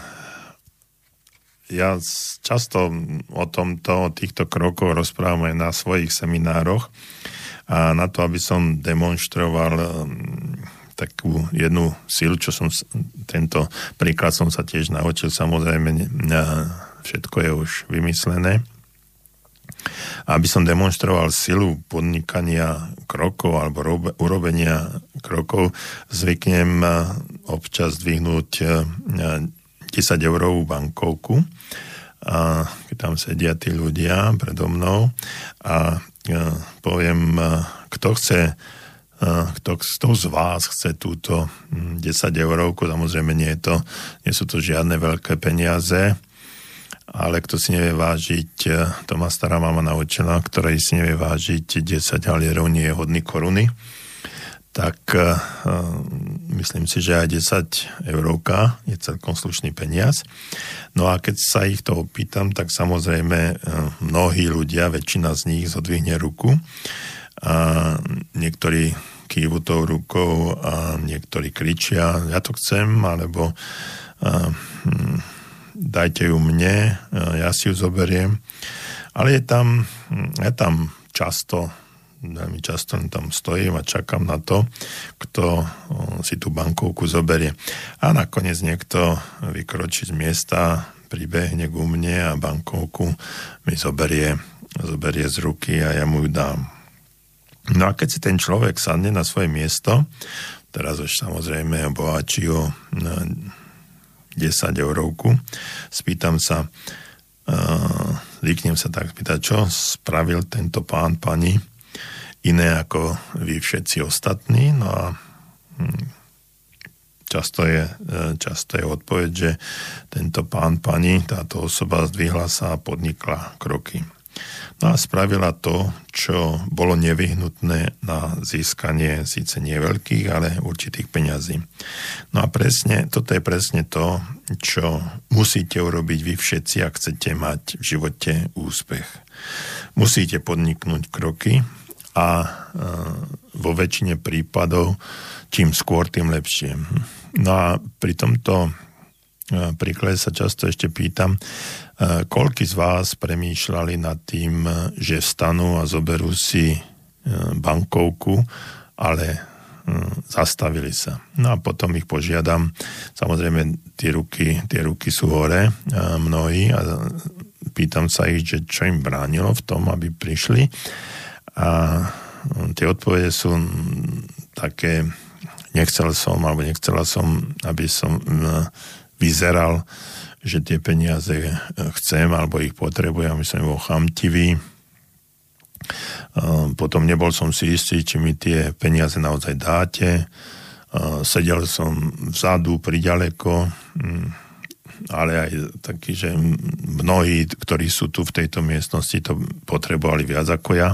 ja často o tomto, o týchto krokoch rozprávam aj na svojich seminároch. A na to, aby som demonstroval um, takú jednu silu, čo som, tento príklad som sa tiež naučil, samozrejme, uh, všetko je už vymyslené. Aby som demonstroval silu podnikania krokov alebo robe, urobenia krokov, zvyknem uh, občas dvihnúť uh, desať eurovú bankovku, a keď tam sedia tí ľudia predo mnou a ja poviem, kto chce, kto, kto z vás chce túto desať eurovku, samozrejme nie, je to, nie sú to žiadne veľké peniaze, ale kto si nevie vážiť, to ma stará mama naučila, ktorý si nevie vážiť desať halierov, nie je hodný koruny, tak uh, myslím si, že aj desať eurovka je celkom slušný peniaz. No a keď sa ich to opýtam, tak samozrejme uh, mnohí ľudia, väčšina z nich zodvihne ruku a niektorí kývu tou rukou a niektorí kričia, ja to chcem, alebo uh, hm, dajte ju mne, uh, ja si ju zoberiem. Ale je tam, je tam často veľmi často tam stojím a čakám na to, kto si tú bankovku zoberie. A nakoniec niekto vykročí z miesta, pribehne ku mne a bankovku mi zoberie, zoberie z ruky a ja mu ju dám. No a keď si ten človek sadne na svoje miesto, teraz už samozrejme bohačí o desať eurovku, spýtam sa, zvyknem sa tak spýtať, čo spravil tento pán, pani, iné ako vy všetci ostatní. No a často je, často je odpoveď, že tento pán, pani, táto osoba zdvihla sa a podnikla kroky. No a spravila to, čo bolo nevyhnutné na získanie síce nie veľkých, ale určitých peňazí. No a presne, toto je presne to, čo musíte urobiť vy všetci, ak chcete mať v živote úspech. Musíte podniknúť kroky, a vo väčšine prípadov čím skôr, tým lepšie. No a pri tomto príklade sa často ešte pýtam, koľký z vás premýšľali nad tým, že vstanú a zoberú si bankovku, ale zastavili sa. No a potom ich požiadam, samozrejme tie ruky, tie ruky sú hore, mnohí, a pýtam sa ich, že čo im bránilo v tom, aby prišli. A tie odpovede sú také, nechcel som, alebo nechcela som, aby som vyzeral, že tie peniaze chcem, alebo ich potrebujem, aby som bol chamtivý. Potom nebol som si istý, či mi tie peniaze naozaj dáte. Sedel som vzadu, priďaleko, ale aj taký, že mnohí, ktorí sú tu v tejto miestnosti, to potrebovali viac ako ja.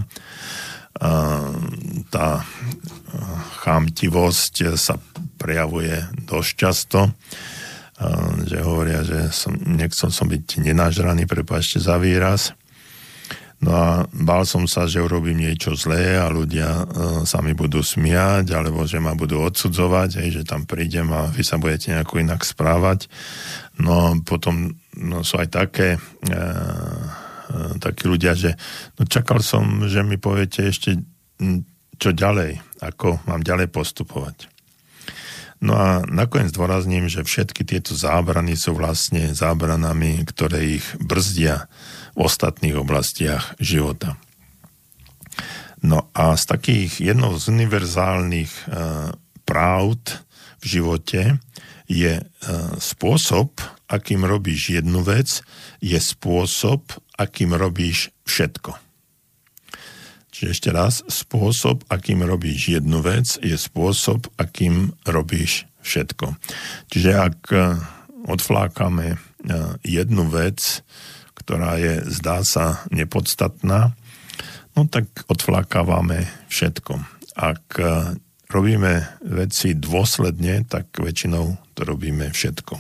Tá chamtivosť sa prejavuje dosť často, že hovoria, že som, nechcel som byť nenažraný, prepáčte za výraz. No a bál som sa, že urobím niečo zlé a ľudia sa mi budú smiať, alebo že ma budú odsudzovať, hej, že tam prídem a vy sa budete nejako inak správať. No potom no, sú aj také, e, e, takí ľudia, že no, čakal som, že mi poviete ešte čo ďalej, ako mám ďalej postupovať. No a nakoniec dôrazním, že všetky tieto zábrany sú vlastne zábranami, ktoré ich brzdia v ostatných oblastiach života. No a z takých jednou z univerzálnych e, pravd v živote je e, spôsob, akým robíš jednu vec, je spôsob, akým robíš všetko. Čiže ešte raz, spôsob, akým robíš jednu vec, je spôsob, akým robíš všetko. Čiže ak odflákame jednu vec, ktorá je, zdá sa, nepodstatná, no tak odflákávame všetko. Ak robíme veci dôsledne, tak väčšinou to robíme všetko.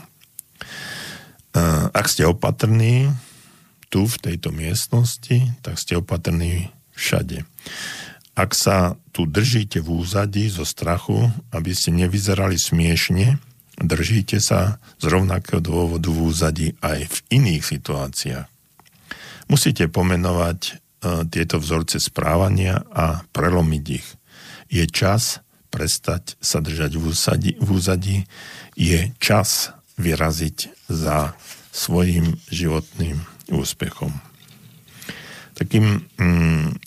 Ak ste opatrní tu, v tejto miestnosti, tak ste opatrní všade. Ak sa tu držíte v úzadí zo strachu, aby ste nevyzerali smiešne, držíte sa z rovnakého dôvodu v úzadí aj v iných situáciách. Musíte pomenovať e, tieto vzorce správania a prelomiť ich. Je čas prestať sa držať v úzadí, v úzadí. Je čas vyraziť za svojím životným úspechom. Takým mm,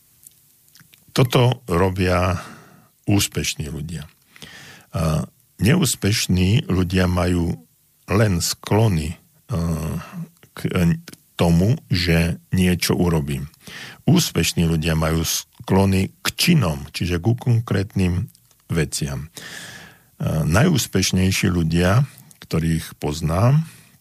toto robia úspešní ľudia. A neúspešní ľudia majú len sklony uh, k tomu, že niečo urobím. Úspešní ľudia majú sklony k činom, čiže ku konkrétnym veciam. Uh, najúspešnejší ľudia, ktorých poznám,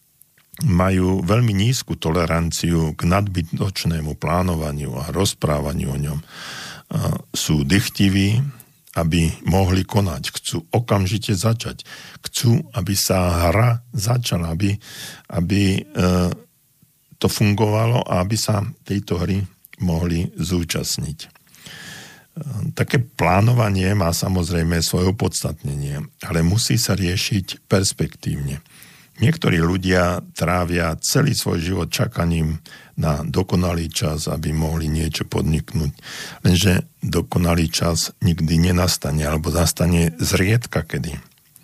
majú veľmi nízku toleranciu k nadbytočnému plánovaniu a rozprávaniu o ňom. Sú dychtiví, aby mohli konať. Chcú okamžite začať. Chcú, aby sa hra začala, aby, aby to fungovalo a aby sa tejto hry mohli zúčastniť. Také plánovanie má samozrejme svoje opodstatnenie, ale musí sa riešiť perspektívne. Niektorí ľudia trávia celý svoj život čakaním na dokonalý čas, aby mohli niečo podniknúť. Lenže dokonalý čas nikdy nenastane, alebo nastane zriedka kedy.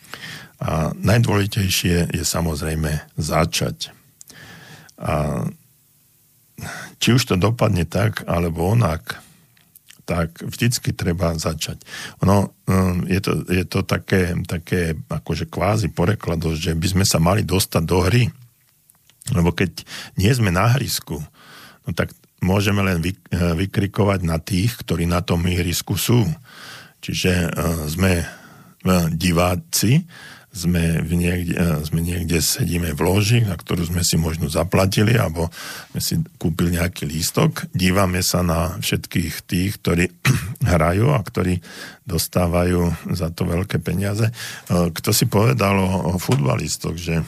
A najdôležitejšie je samozrejme začať. A či už to dopadne tak, alebo onak, tak vždycky treba začať. Ono, je to, je to také, také akože kvázi porekladosť, že by sme sa mali dostať do hry. Lebo keď nie sme na hrisku, no tak môžeme len vy, vykrikovať na tých, ktorí na tom ihrisku sú. Čiže sme diváci, sme, v niekde, sme niekde sedíme v loži, na ktorú sme si možno zaplatili, alebo sme si kúpili nejaký lístok. Dívame sa na všetkých tých, ktorí hrajú a ktorí dostávajú za to veľké peniaze. Kto si povedal o, o futbalistoch, že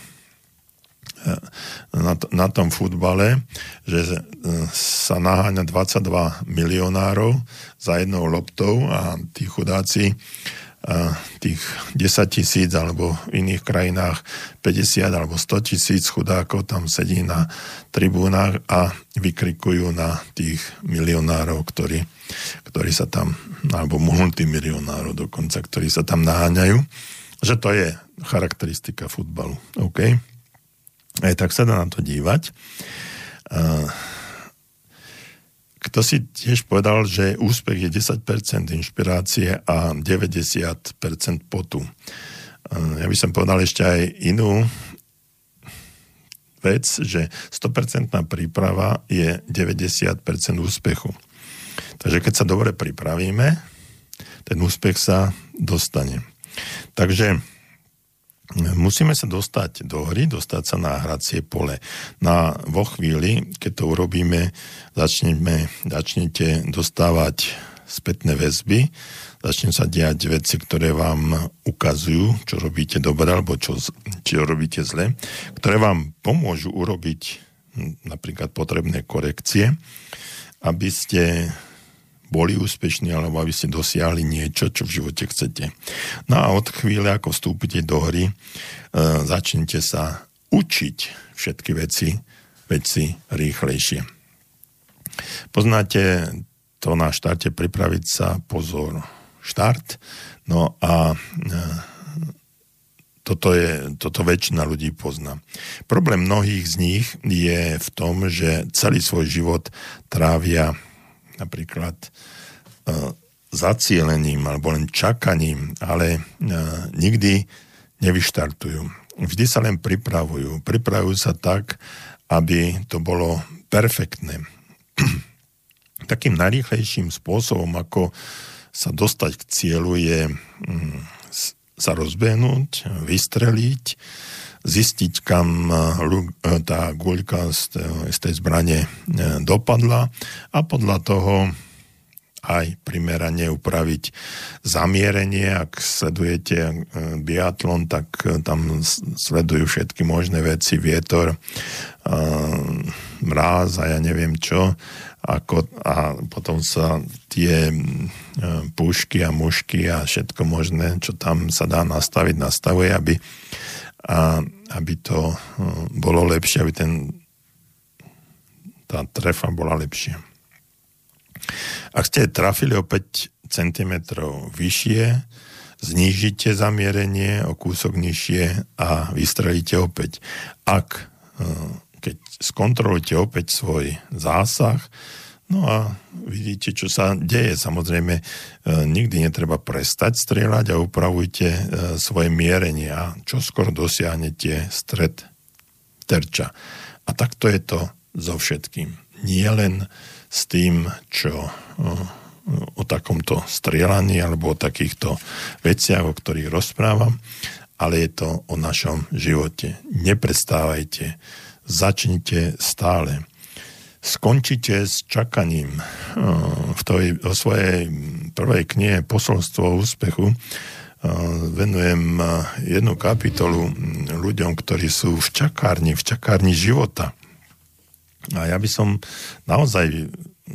na, na tom futbale, že sa naháňa dvadsaťdva milionárov za jednou loptou a tí chudáci tých desať tisíc alebo v iných krajinách päťdesiat alebo sto tisíc chudákov tam sedí na tribúnach a vykrikujú na tých milionárov, ktorí, ktorí sa tam, alebo multimilionárov dokonca, ktorí sa tam naháňajú, že to je charakteristika futbalu. OK? Aj tak sa dá na to dívať. Kto si tiež povedal, že úspech je desať percent inšpirácie a deväťdesiat percent potu. Ja by som povedal ešte aj inú vec, že sto percent príprava je deväťdesiat percent úspechu. Takže keď sa dobre pripravíme, ten úspech sa dostane. Takže musíme sa dostať do hry, dostať sa na hracie pole. Na, vo chvíli, keď to urobíme, začneme, začnete dostávať spätné väzby, začne sa diať veci, ktoré vám ukazujú, čo robíte dobre, alebo čo, čo robíte zle, ktoré vám pomôžu urobiť napríklad potrebné korekcie, aby ste boli úspešní, alebo aby ste dosiahli niečo, čo v živote chcete. No a od chvíle, ako vstúpite do hry, e, začnite sa učiť všetky veci, veci rýchlejšie. Poznáte to na štarte pripraviť sa, pozor, štart. No a e, Toto, je, toto väčšina ľudí pozná. Problém mnohých z nich je v tom, že celý svoj život trávia napríklad uh, zacielením alebo len čakaním, ale uh, nikdy nevyštartujú. Vždy sa len pripravujú. Pripravujú sa tak, aby to bolo perfektné. Takým najrýchlejším spôsobom, ako sa dostať k cieľu, je um, sa rozbehnúť, vystreliť, zistiť, kam tá guľka z tej zbrane dopadla a podľa toho aj primerane upraviť zamierenie. Ak sledujete biatlon, tak tam sledujú všetky možné veci, vietor, mráz a ja neviem čo. Ako, a potom sa tie pušky a mušky a všetko možné, čo tam sa dá nastaviť, nastavuje, aby, a, aby to bolo lepšie, aby ten, tá trefa bola lepšia. Ak ste trafili o päť centimetrov vyššie, znížite zamierenie o kúsok nižšie a vystrelíte opäť. Ak keď skontrolujete opäť svoj zásah, no a vidíte, čo sa deje. Samozrejme, e, nikdy netreba prestať strieľať a upravujte e, svoje mierenie a čoskoro dosiahnete stred terča. A takto je to so všetkým. Nie len s tým, čo e, o takomto strieľaní alebo o takýchto veciach, o ktorých rozprávam, ale je to o našom živote. Neprestávajte, začnite stále. Skončite s čakaním. V tej, o svojej prvej knihe Posolstvo úspechu venujem jednu kapitolu ľuďom, ktorí sú v čakárni, v čakárni života. A ja by som naozaj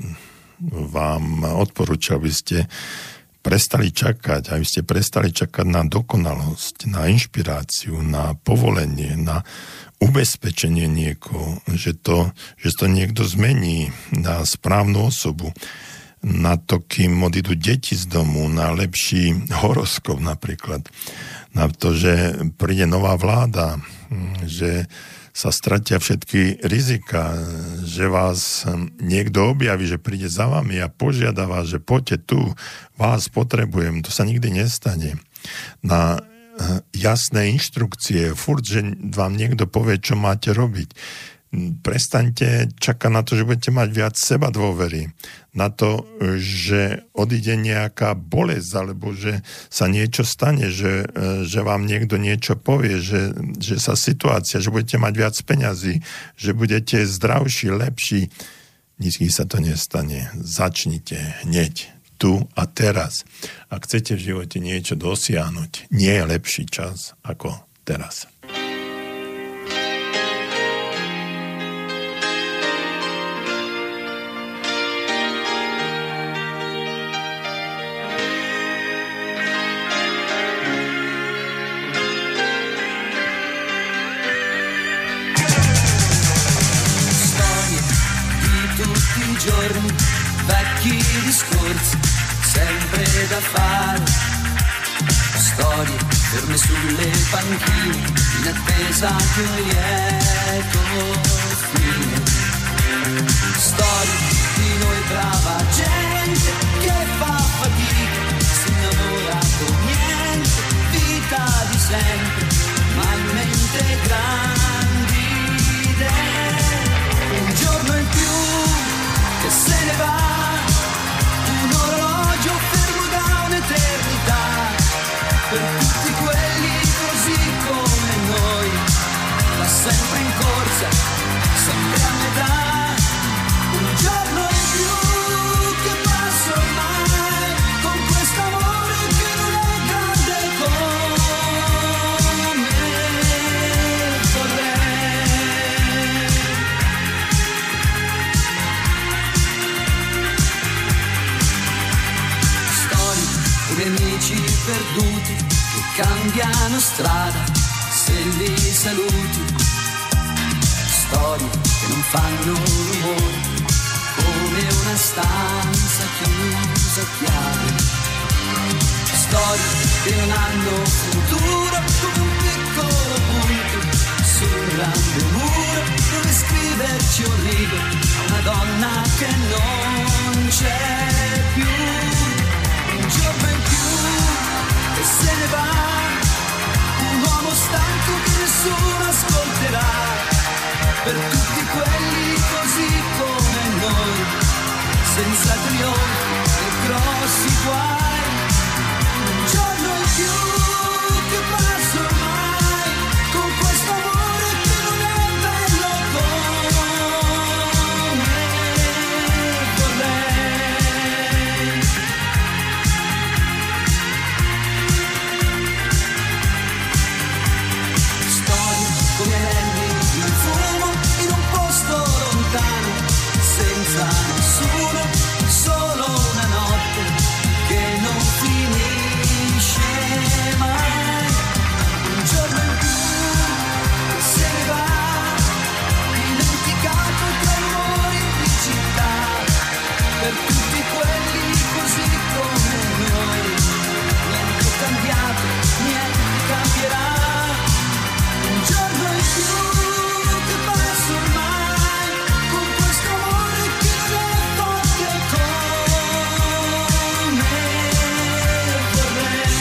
vám odporúčal, aby ste prestali čakať, aby ste prestali čakať na dokonalosť, na inšpiráciu, na povolenie, na ubezpečenie niekoho, že to, že to niekto zmení na správnu osobu, na to, kým odídu deti z domu, na lepší horoskop napríklad, na to, že príde nová vláda, že sa stratia všetky rizika, že vás niekto objaví, že príde za vami a požiada vás, že poďte tu, vás potrebujem. To sa nikdy nestane. Na jasné inštrukcie, furt, že vám niekto povie, čo máte robiť. Prestaňte čakať na to, že budete mať viac seba dôvery, na to, že odíde nejaká bolesť, alebo že sa niečo stane, že, že vám niekto niečo povie, že, že sa situácia, že budete mať viac peňazí, že budete zdravší, lepší. Nikdy sa to nestane. Začnite hneď. Tu a teraz. Ak chcete v živote niečo dosiahnuť, nie je lepší čas ako teraz. Storie di tutti i giorni, vecchi discorsi, sempre da fare, storie ferme sulle panchine, in attesa di un lieto fine, storie di noi brava gente che fa fatica, si innamora con niente, vita di sempre, ma in mente grandi idee, un giorno in più che se ne va, un orologio fermo da un'eternità, per tutti quelli così come noi, va sempre in corsa, sempre a metà, un giorno in più che passa ormai, con quest'amore che non è grande come vorrei. Storie di amici perduti che cambiano strada se li saluti, storie che non fanno rumore come una stanza chiusa a chiave, storie che non hanno futuro come un piccolo grande muro dove scriverci un rigo, una donna che non c'è più, un giorno in più e se ne va, un uomo stanco che nessuno ascolterà, per tutti quelli così come noi, senza trionfi e grossi guai, un giorno in più che passa ormai, con questo amore che non è bello come vorrei. Storie come anelli in fumo in un posto lontano, senza nessuno, solo una notte che non finisce mai, un giorno in più che se ne va, dimenticato tra i rumori di città, per tutti quelli così come noi, niente è cambiato, niente cambierà, un giorno in più che passa ormai, con questo amore che non è forte come vorrei.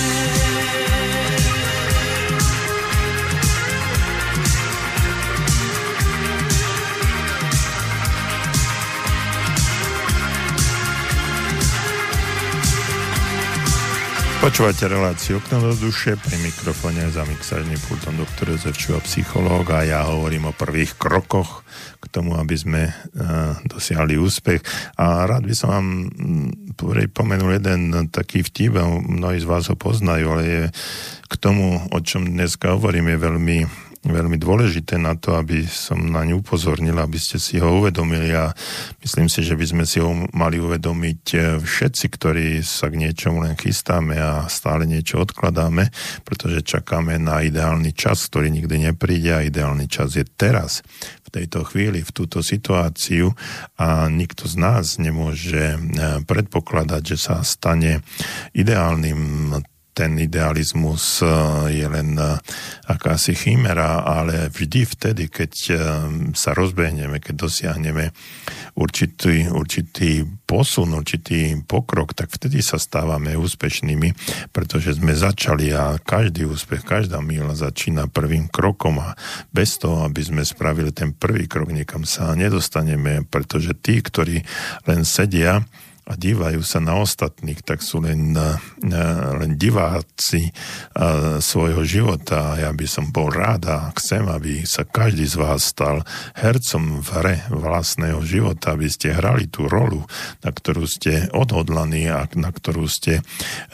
Počúvate reláciu Okno do duše, pri mikrofóne za mixážnym pultom doktor Jozef Čuha, psychológ, a ja hovorím o prvých krokoch k tomu, aby sme uh, dosiahli úspech. A rád by som vám pripomenul jeden taký vtip, mnohí z vás ho poznajú, ale je k tomu, o čom dneska hovorím, je veľmi veľmi dôležité na to, aby som na ňu upozornil, aby ste si ho uvedomili, a myslím si, že by sme si ho mali uvedomiť všetci, ktorí sa k niečomu len chystáme a stále niečo odkladáme, pretože čakáme na ideálny čas, ktorý nikdy nepríde, a ideálny čas je teraz, v tejto chvíli, v túto situáciu, a nikto z nás nemôže predpokladať, že sa stane ideálnym. Ten idealizmus je len akási chimera, ale vždy vtedy, keď sa rozbehneme, keď dosiahneme určitý, určitý posun, určitý pokrok, tak vtedy sa stávame úspešnými, pretože sme začali, a každý úspech, každá míľa začína prvým krokom, a bez toho, aby sme spravili ten prvý krok, niekam sa nedostaneme, pretože tí, ktorí len sedia a dívajú sa na ostatných, tak sú len, len diváci svojho života. A ja by som bol rád a chcem, aby sa každý z vás stal hercom v hre vlastného života, aby ste hrali tú rolu, na ktorú ste odhodlaní a na ktorú ste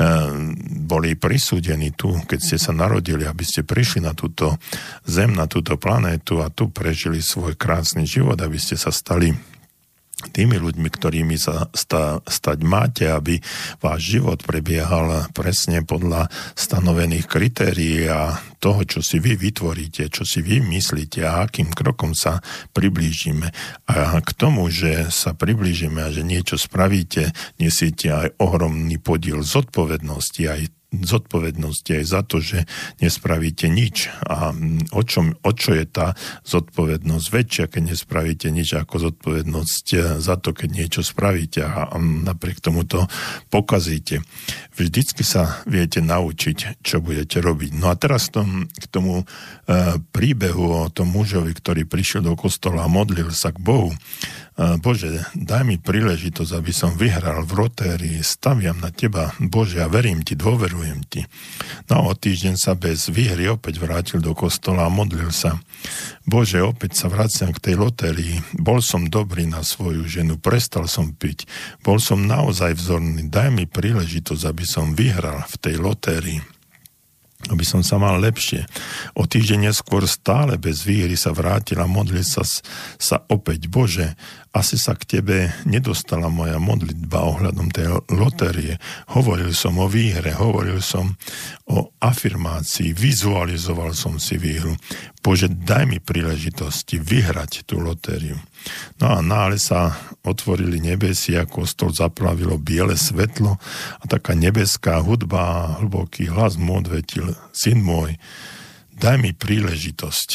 boli prisúdení tu, keď ste sa narodili, aby ste prišli na túto zem, na túto planétu a tu prežili svoj krásny život, aby ste sa stali tými ľuďmi, ktorými sa sta, stať máte, aby váš život prebiehal presne podľa stanovených kritérií a toho, čo si vy vytvoríte, čo si vy myslíte a akým krokom sa priblížime. A k tomu, že sa priblížime a že niečo spravíte, nesiete aj ohromný podiel zodpovednosti, aj zodpovednosti aj za to, že nespravíte nič. A o, čom, o čo je tá zodpovednosť väčšia, keď nespravíte nič, ako zodpovednosť za to, keď niečo spravíte a napriek tomu to pokazíte. Vždycky sa viete naučiť, čo budete robiť. No a teraz tom, k tomu e, príbehu o tom mužovi, ktorý prišiel do kostola a modlil sa k Bohu. Bože, daj mi príležitosť, aby som vyhral v lotérii, staviam na teba, Bože, a verím ti, dôverujem ti. No o týždeň sa bez výhry opäť vrátil do kostola a modlil sa. Bože, opäť sa vraciam k tej lotérii, bol som dobrý na svoju ženu, prestal som piť, bol som naozaj vzorný, daj mi príležitosť, aby som vyhral v tej lotérii, aby som sa mal lepšie. O týždeň neskôr stále bez výhry sa vrátil a modlil sa, sa opäť. Bože, asi sa k tebe nedostala moja modlitba ohľadom tej lotérie. Hovoril som o výhre, hovoril som o afirmácii, vizualizoval som si výhru. Bože, daj mi príležitosti vyhrať tú lotériu. No a náhle sa otvorili nebesia, kostol zaplavilo biele svetlo a taká nebeská hudba a hlboký hlas mu odvetil: Syn môj, daj mi príležitosť,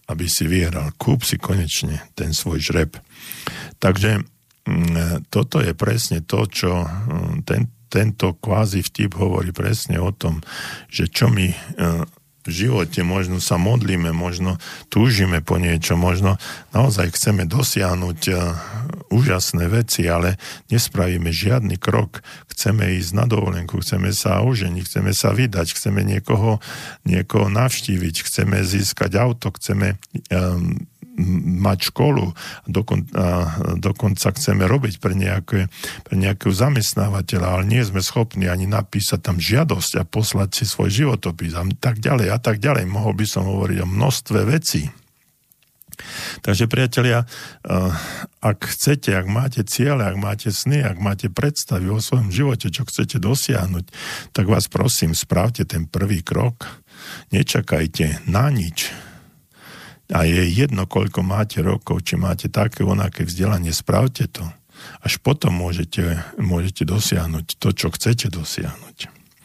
aby si vyhral. Kúp si konečne ten svoj žreb. Takže toto je presne to, čo ten, tento kvázi vtip hovorí presne o tom, že čo my v živote možno sa modlíme, možno túžime po niečo, možno naozaj chceme dosiahnuť úžasné veci, ale nespravíme žiadny krok. Chceme ísť na dovolenku, chceme sa oženiť, chceme sa vydať, chceme niekoho, niekoho navštíviť, chceme získať auto, chceme um, mať školu, dokon, a dokonca chceme robiť pre, nejaké, pre nejakého zamestnávateľa, ale nie sme schopní ani napísať tam žiadosť a poslať si svoj životopis a tak ďalej a tak ďalej. Mohol by som hovoriť o množstve vecí. Takže priatelia, ak chcete, ak máte ciele, ak máte sny, ak máte predstavy o svojom živote, čo chcete dosiahnuť, tak vás prosím, spravte ten prvý krok. Nečakajte na nič. A je jedno, koľko máte rokov, či máte také onaké vzdelanie, spravte to. Až potom môžete, môžete dosiahnuť to, čo chcete dosiahnuť.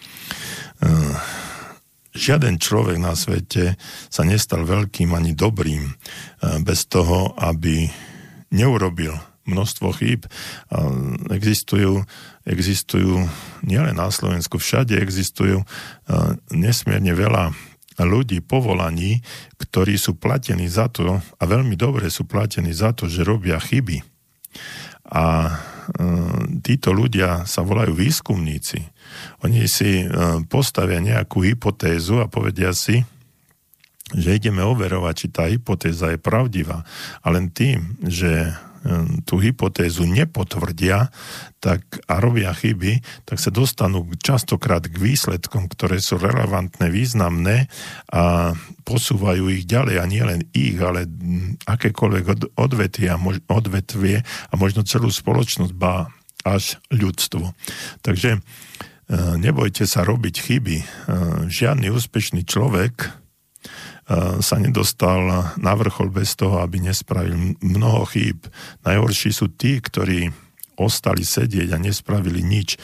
Žiaden človek na svete sa nestal veľkým ani dobrým bez toho, aby neurobil množstvo chýb. Existujú, existujú nielen na Slovensku, všade existujú nesmierne veľa ľudí, povolaní, ktorí sú platení za to, a veľmi dobre sú platení za to, že robia chyby. A e, títo ľudia sa volajú výskumníci. Oni si e, postavia nejakú hypotézu a povedia si, že ideme overovať, či tá hypotéza je pravdivá. A len tým, že tú hypotézu nepotvrdia tak, a robia chyby, tak sa dostanú častokrát k výsledkom, ktoré sú relevantné, významné a posúvajú ich ďalej a nie len ich, ale akékoľvek odvetvie a, mož, odvetvie a možno celú spoločnosť, ba až ľudstvo. Takže nebojte sa robiť chyby. Žiadny úspešný človek sa nedostal na vrchol bez toho, aby nespravil mnoho chýb. Najhorší sú tí, ktorí ostali sedieť a nespravili nič.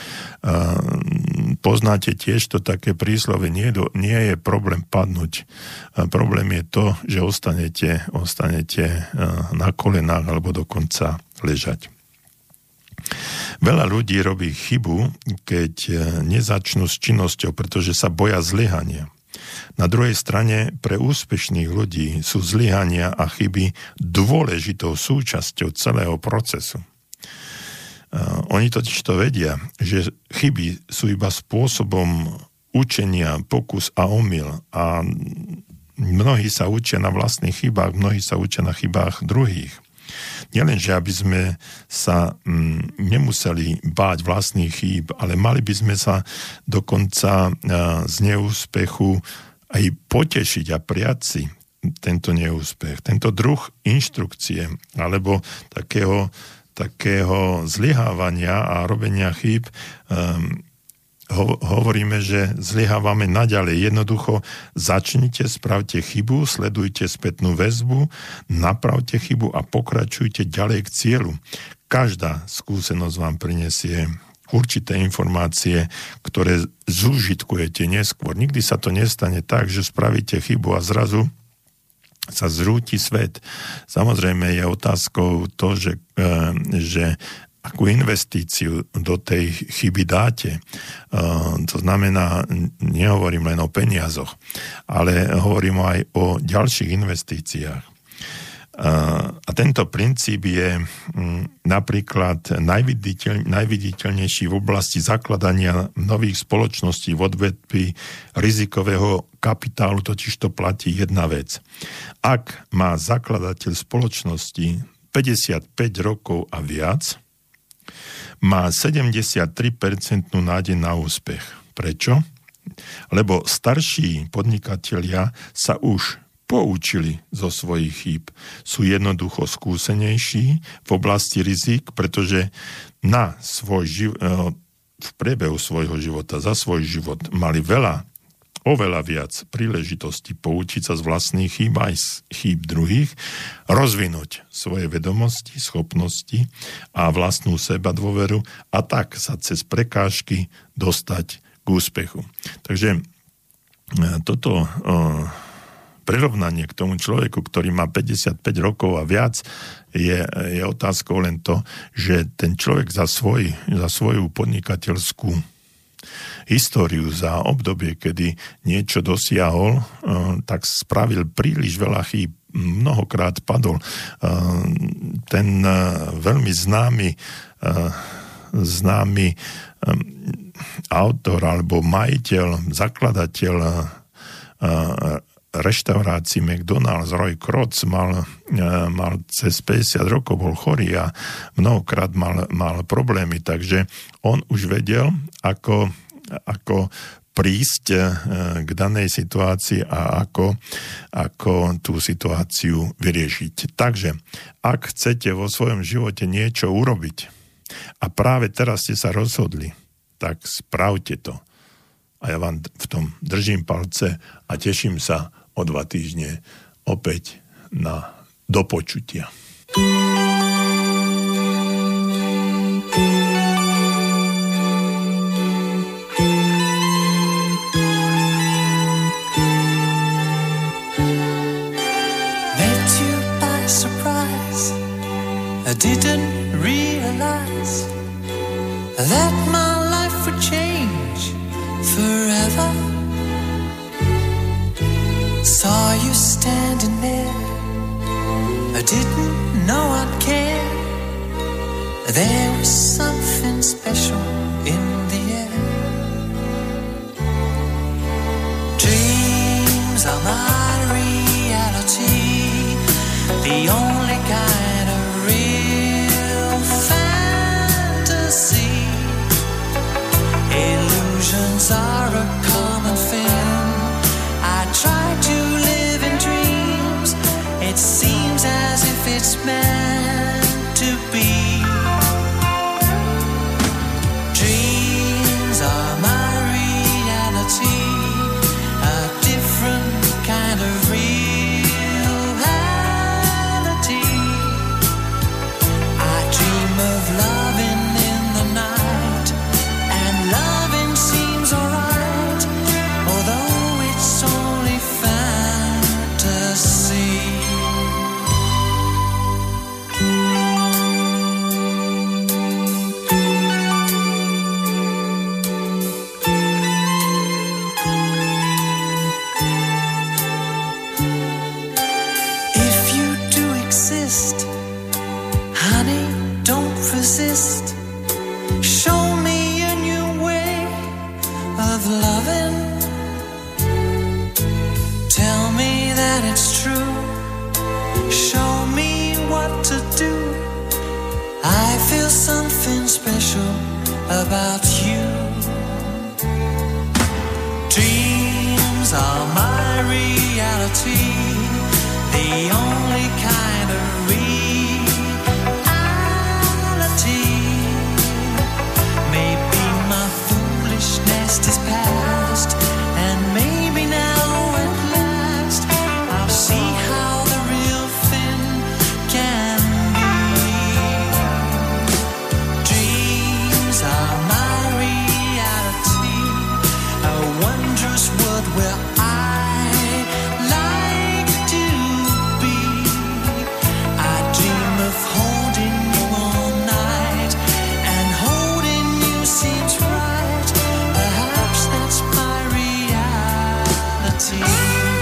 Poznáte tiež to také príslove, nie, do, nie je problém padnúť. Problém je to, že ostanete, ostanete na kolenách alebo dokonca ležať. Veľa ľudí robí chybu, keď nezačnú s činnosťou, pretože sa boja zlyhania. Na druhej strane pre úspešných ľudí sú zlyhania a chyby dôležitou súčasťou celého procesu. Uh, oni totiž to vedia, že chyby sú iba spôsobom učenia, pokus a omyl a mnohí sa učia na vlastných chybách, mnohí sa učia na chybách druhých. Nielenže, aby sme sa mm, nemuseli báť vlastných chýb, ale mali by sme sa dokonca uh, z neúspechu aj potešiť a prijať si tento neúspech, tento druh inštrukcie alebo takého, takého zlyhávania a robenia chýb. Um, ho, hovoríme, že zlyhávame naďalej. Jednoducho začnite, spravte chybu, sledujte spätnú väzbu, napravte chybu a pokračujte ďalej k cieľu. Každá skúsenosť vám prinesie určité informácie, ktoré zúžitkujete neskôr. Nikdy sa to nestane tak, že spravíte chybu a zrazu sa zrúti svet. Samozrejme je otázkou to, že, že akú investíciu do tej chyby dáte. To znamená, nehovorím len o peniazoch, ale hovorím aj o ďalších investíciách. A tento princíp je napríklad najviditeľ, najviditeľnejší v oblasti zakladania nových spoločností v odvetví rizikového kapitálu, totiž to platí jedna vec. Ak má zakladateľ spoločnosti päťdesiatpäť rokov a viac, má sedemdesiattri percent nádej na úspech. Prečo? Lebo starší podnikatelia sa už poučili zo svojich chýb. Sú jednoducho skúsenejší v oblasti rizik, pretože na svoj živ- v priebehu svojho života, za svoj život mali veľa, oveľa viac príležitostí poučiť sa z vlastných chýb aj z chýb druhých, rozvinúť svoje vedomosti, schopnosti a vlastnú seba dôveru a tak sa cez prekážky dostať k úspechu. Takže toto prirovnanie k tomu človeku, ktorý má päťdesiatpäť rokov a viac, je, je otázkou len to, že ten človek za, svoj, za svoju podnikateľskú históriu, za obdobie, kedy niečo dosiahol, tak spravil príliš veľa chýb, mnohokrát padol. Ten veľmi známy známy autor alebo majiteľ, zakladateľ reštaurácii McDonald's, Roy Kroc, mal, mal cez päťdesiat rokov, bol chorý a mnohokrát mal, mal problémy, takže on už vedel, ako, ako prísť k danej situácii a ako, ako tú situáciu vyriešiť. Takže, ak chcete vo svojom živote niečo urobiť a práve teraz ste sa rozhodli, tak spravte to. A ja vám v tom držím palce a teším sa o dva týždne opäť na dopočutia. Met you by surprise. I didn't realize that my life would change forever. Saw you standing there, I didn't know I'd care. There was something special in the air. Dreams are my reality, the only kind of real fantasy. Illusions are a common thing. I try to live in dreams. It seems as if it's meant to be. Dreams are my reality, a different kind of reality. I dream of loving in the night, and loving seems alright, although it's only fantasy. If you do exist, honey, don't resist. Show me a new way of loving. Tell me that it's true. Show me what to do. I feel something special about you. Dreams are my reality, the only kind of reality. Maybe my foolishness is past, and maybe now at last I'll see how the real thing can be. Dreams are my reality, a wondrous world where I like to be. I dream of holding you all night, and holding you seems right. Perhaps that's my reality.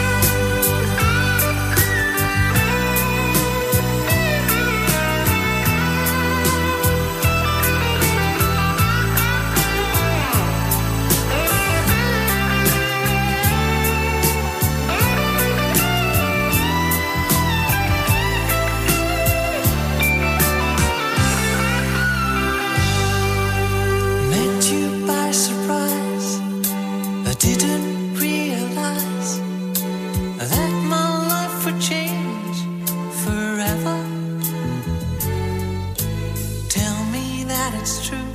Met you by surprise, I didn't realize that my life would change forever. Tell me that it's true.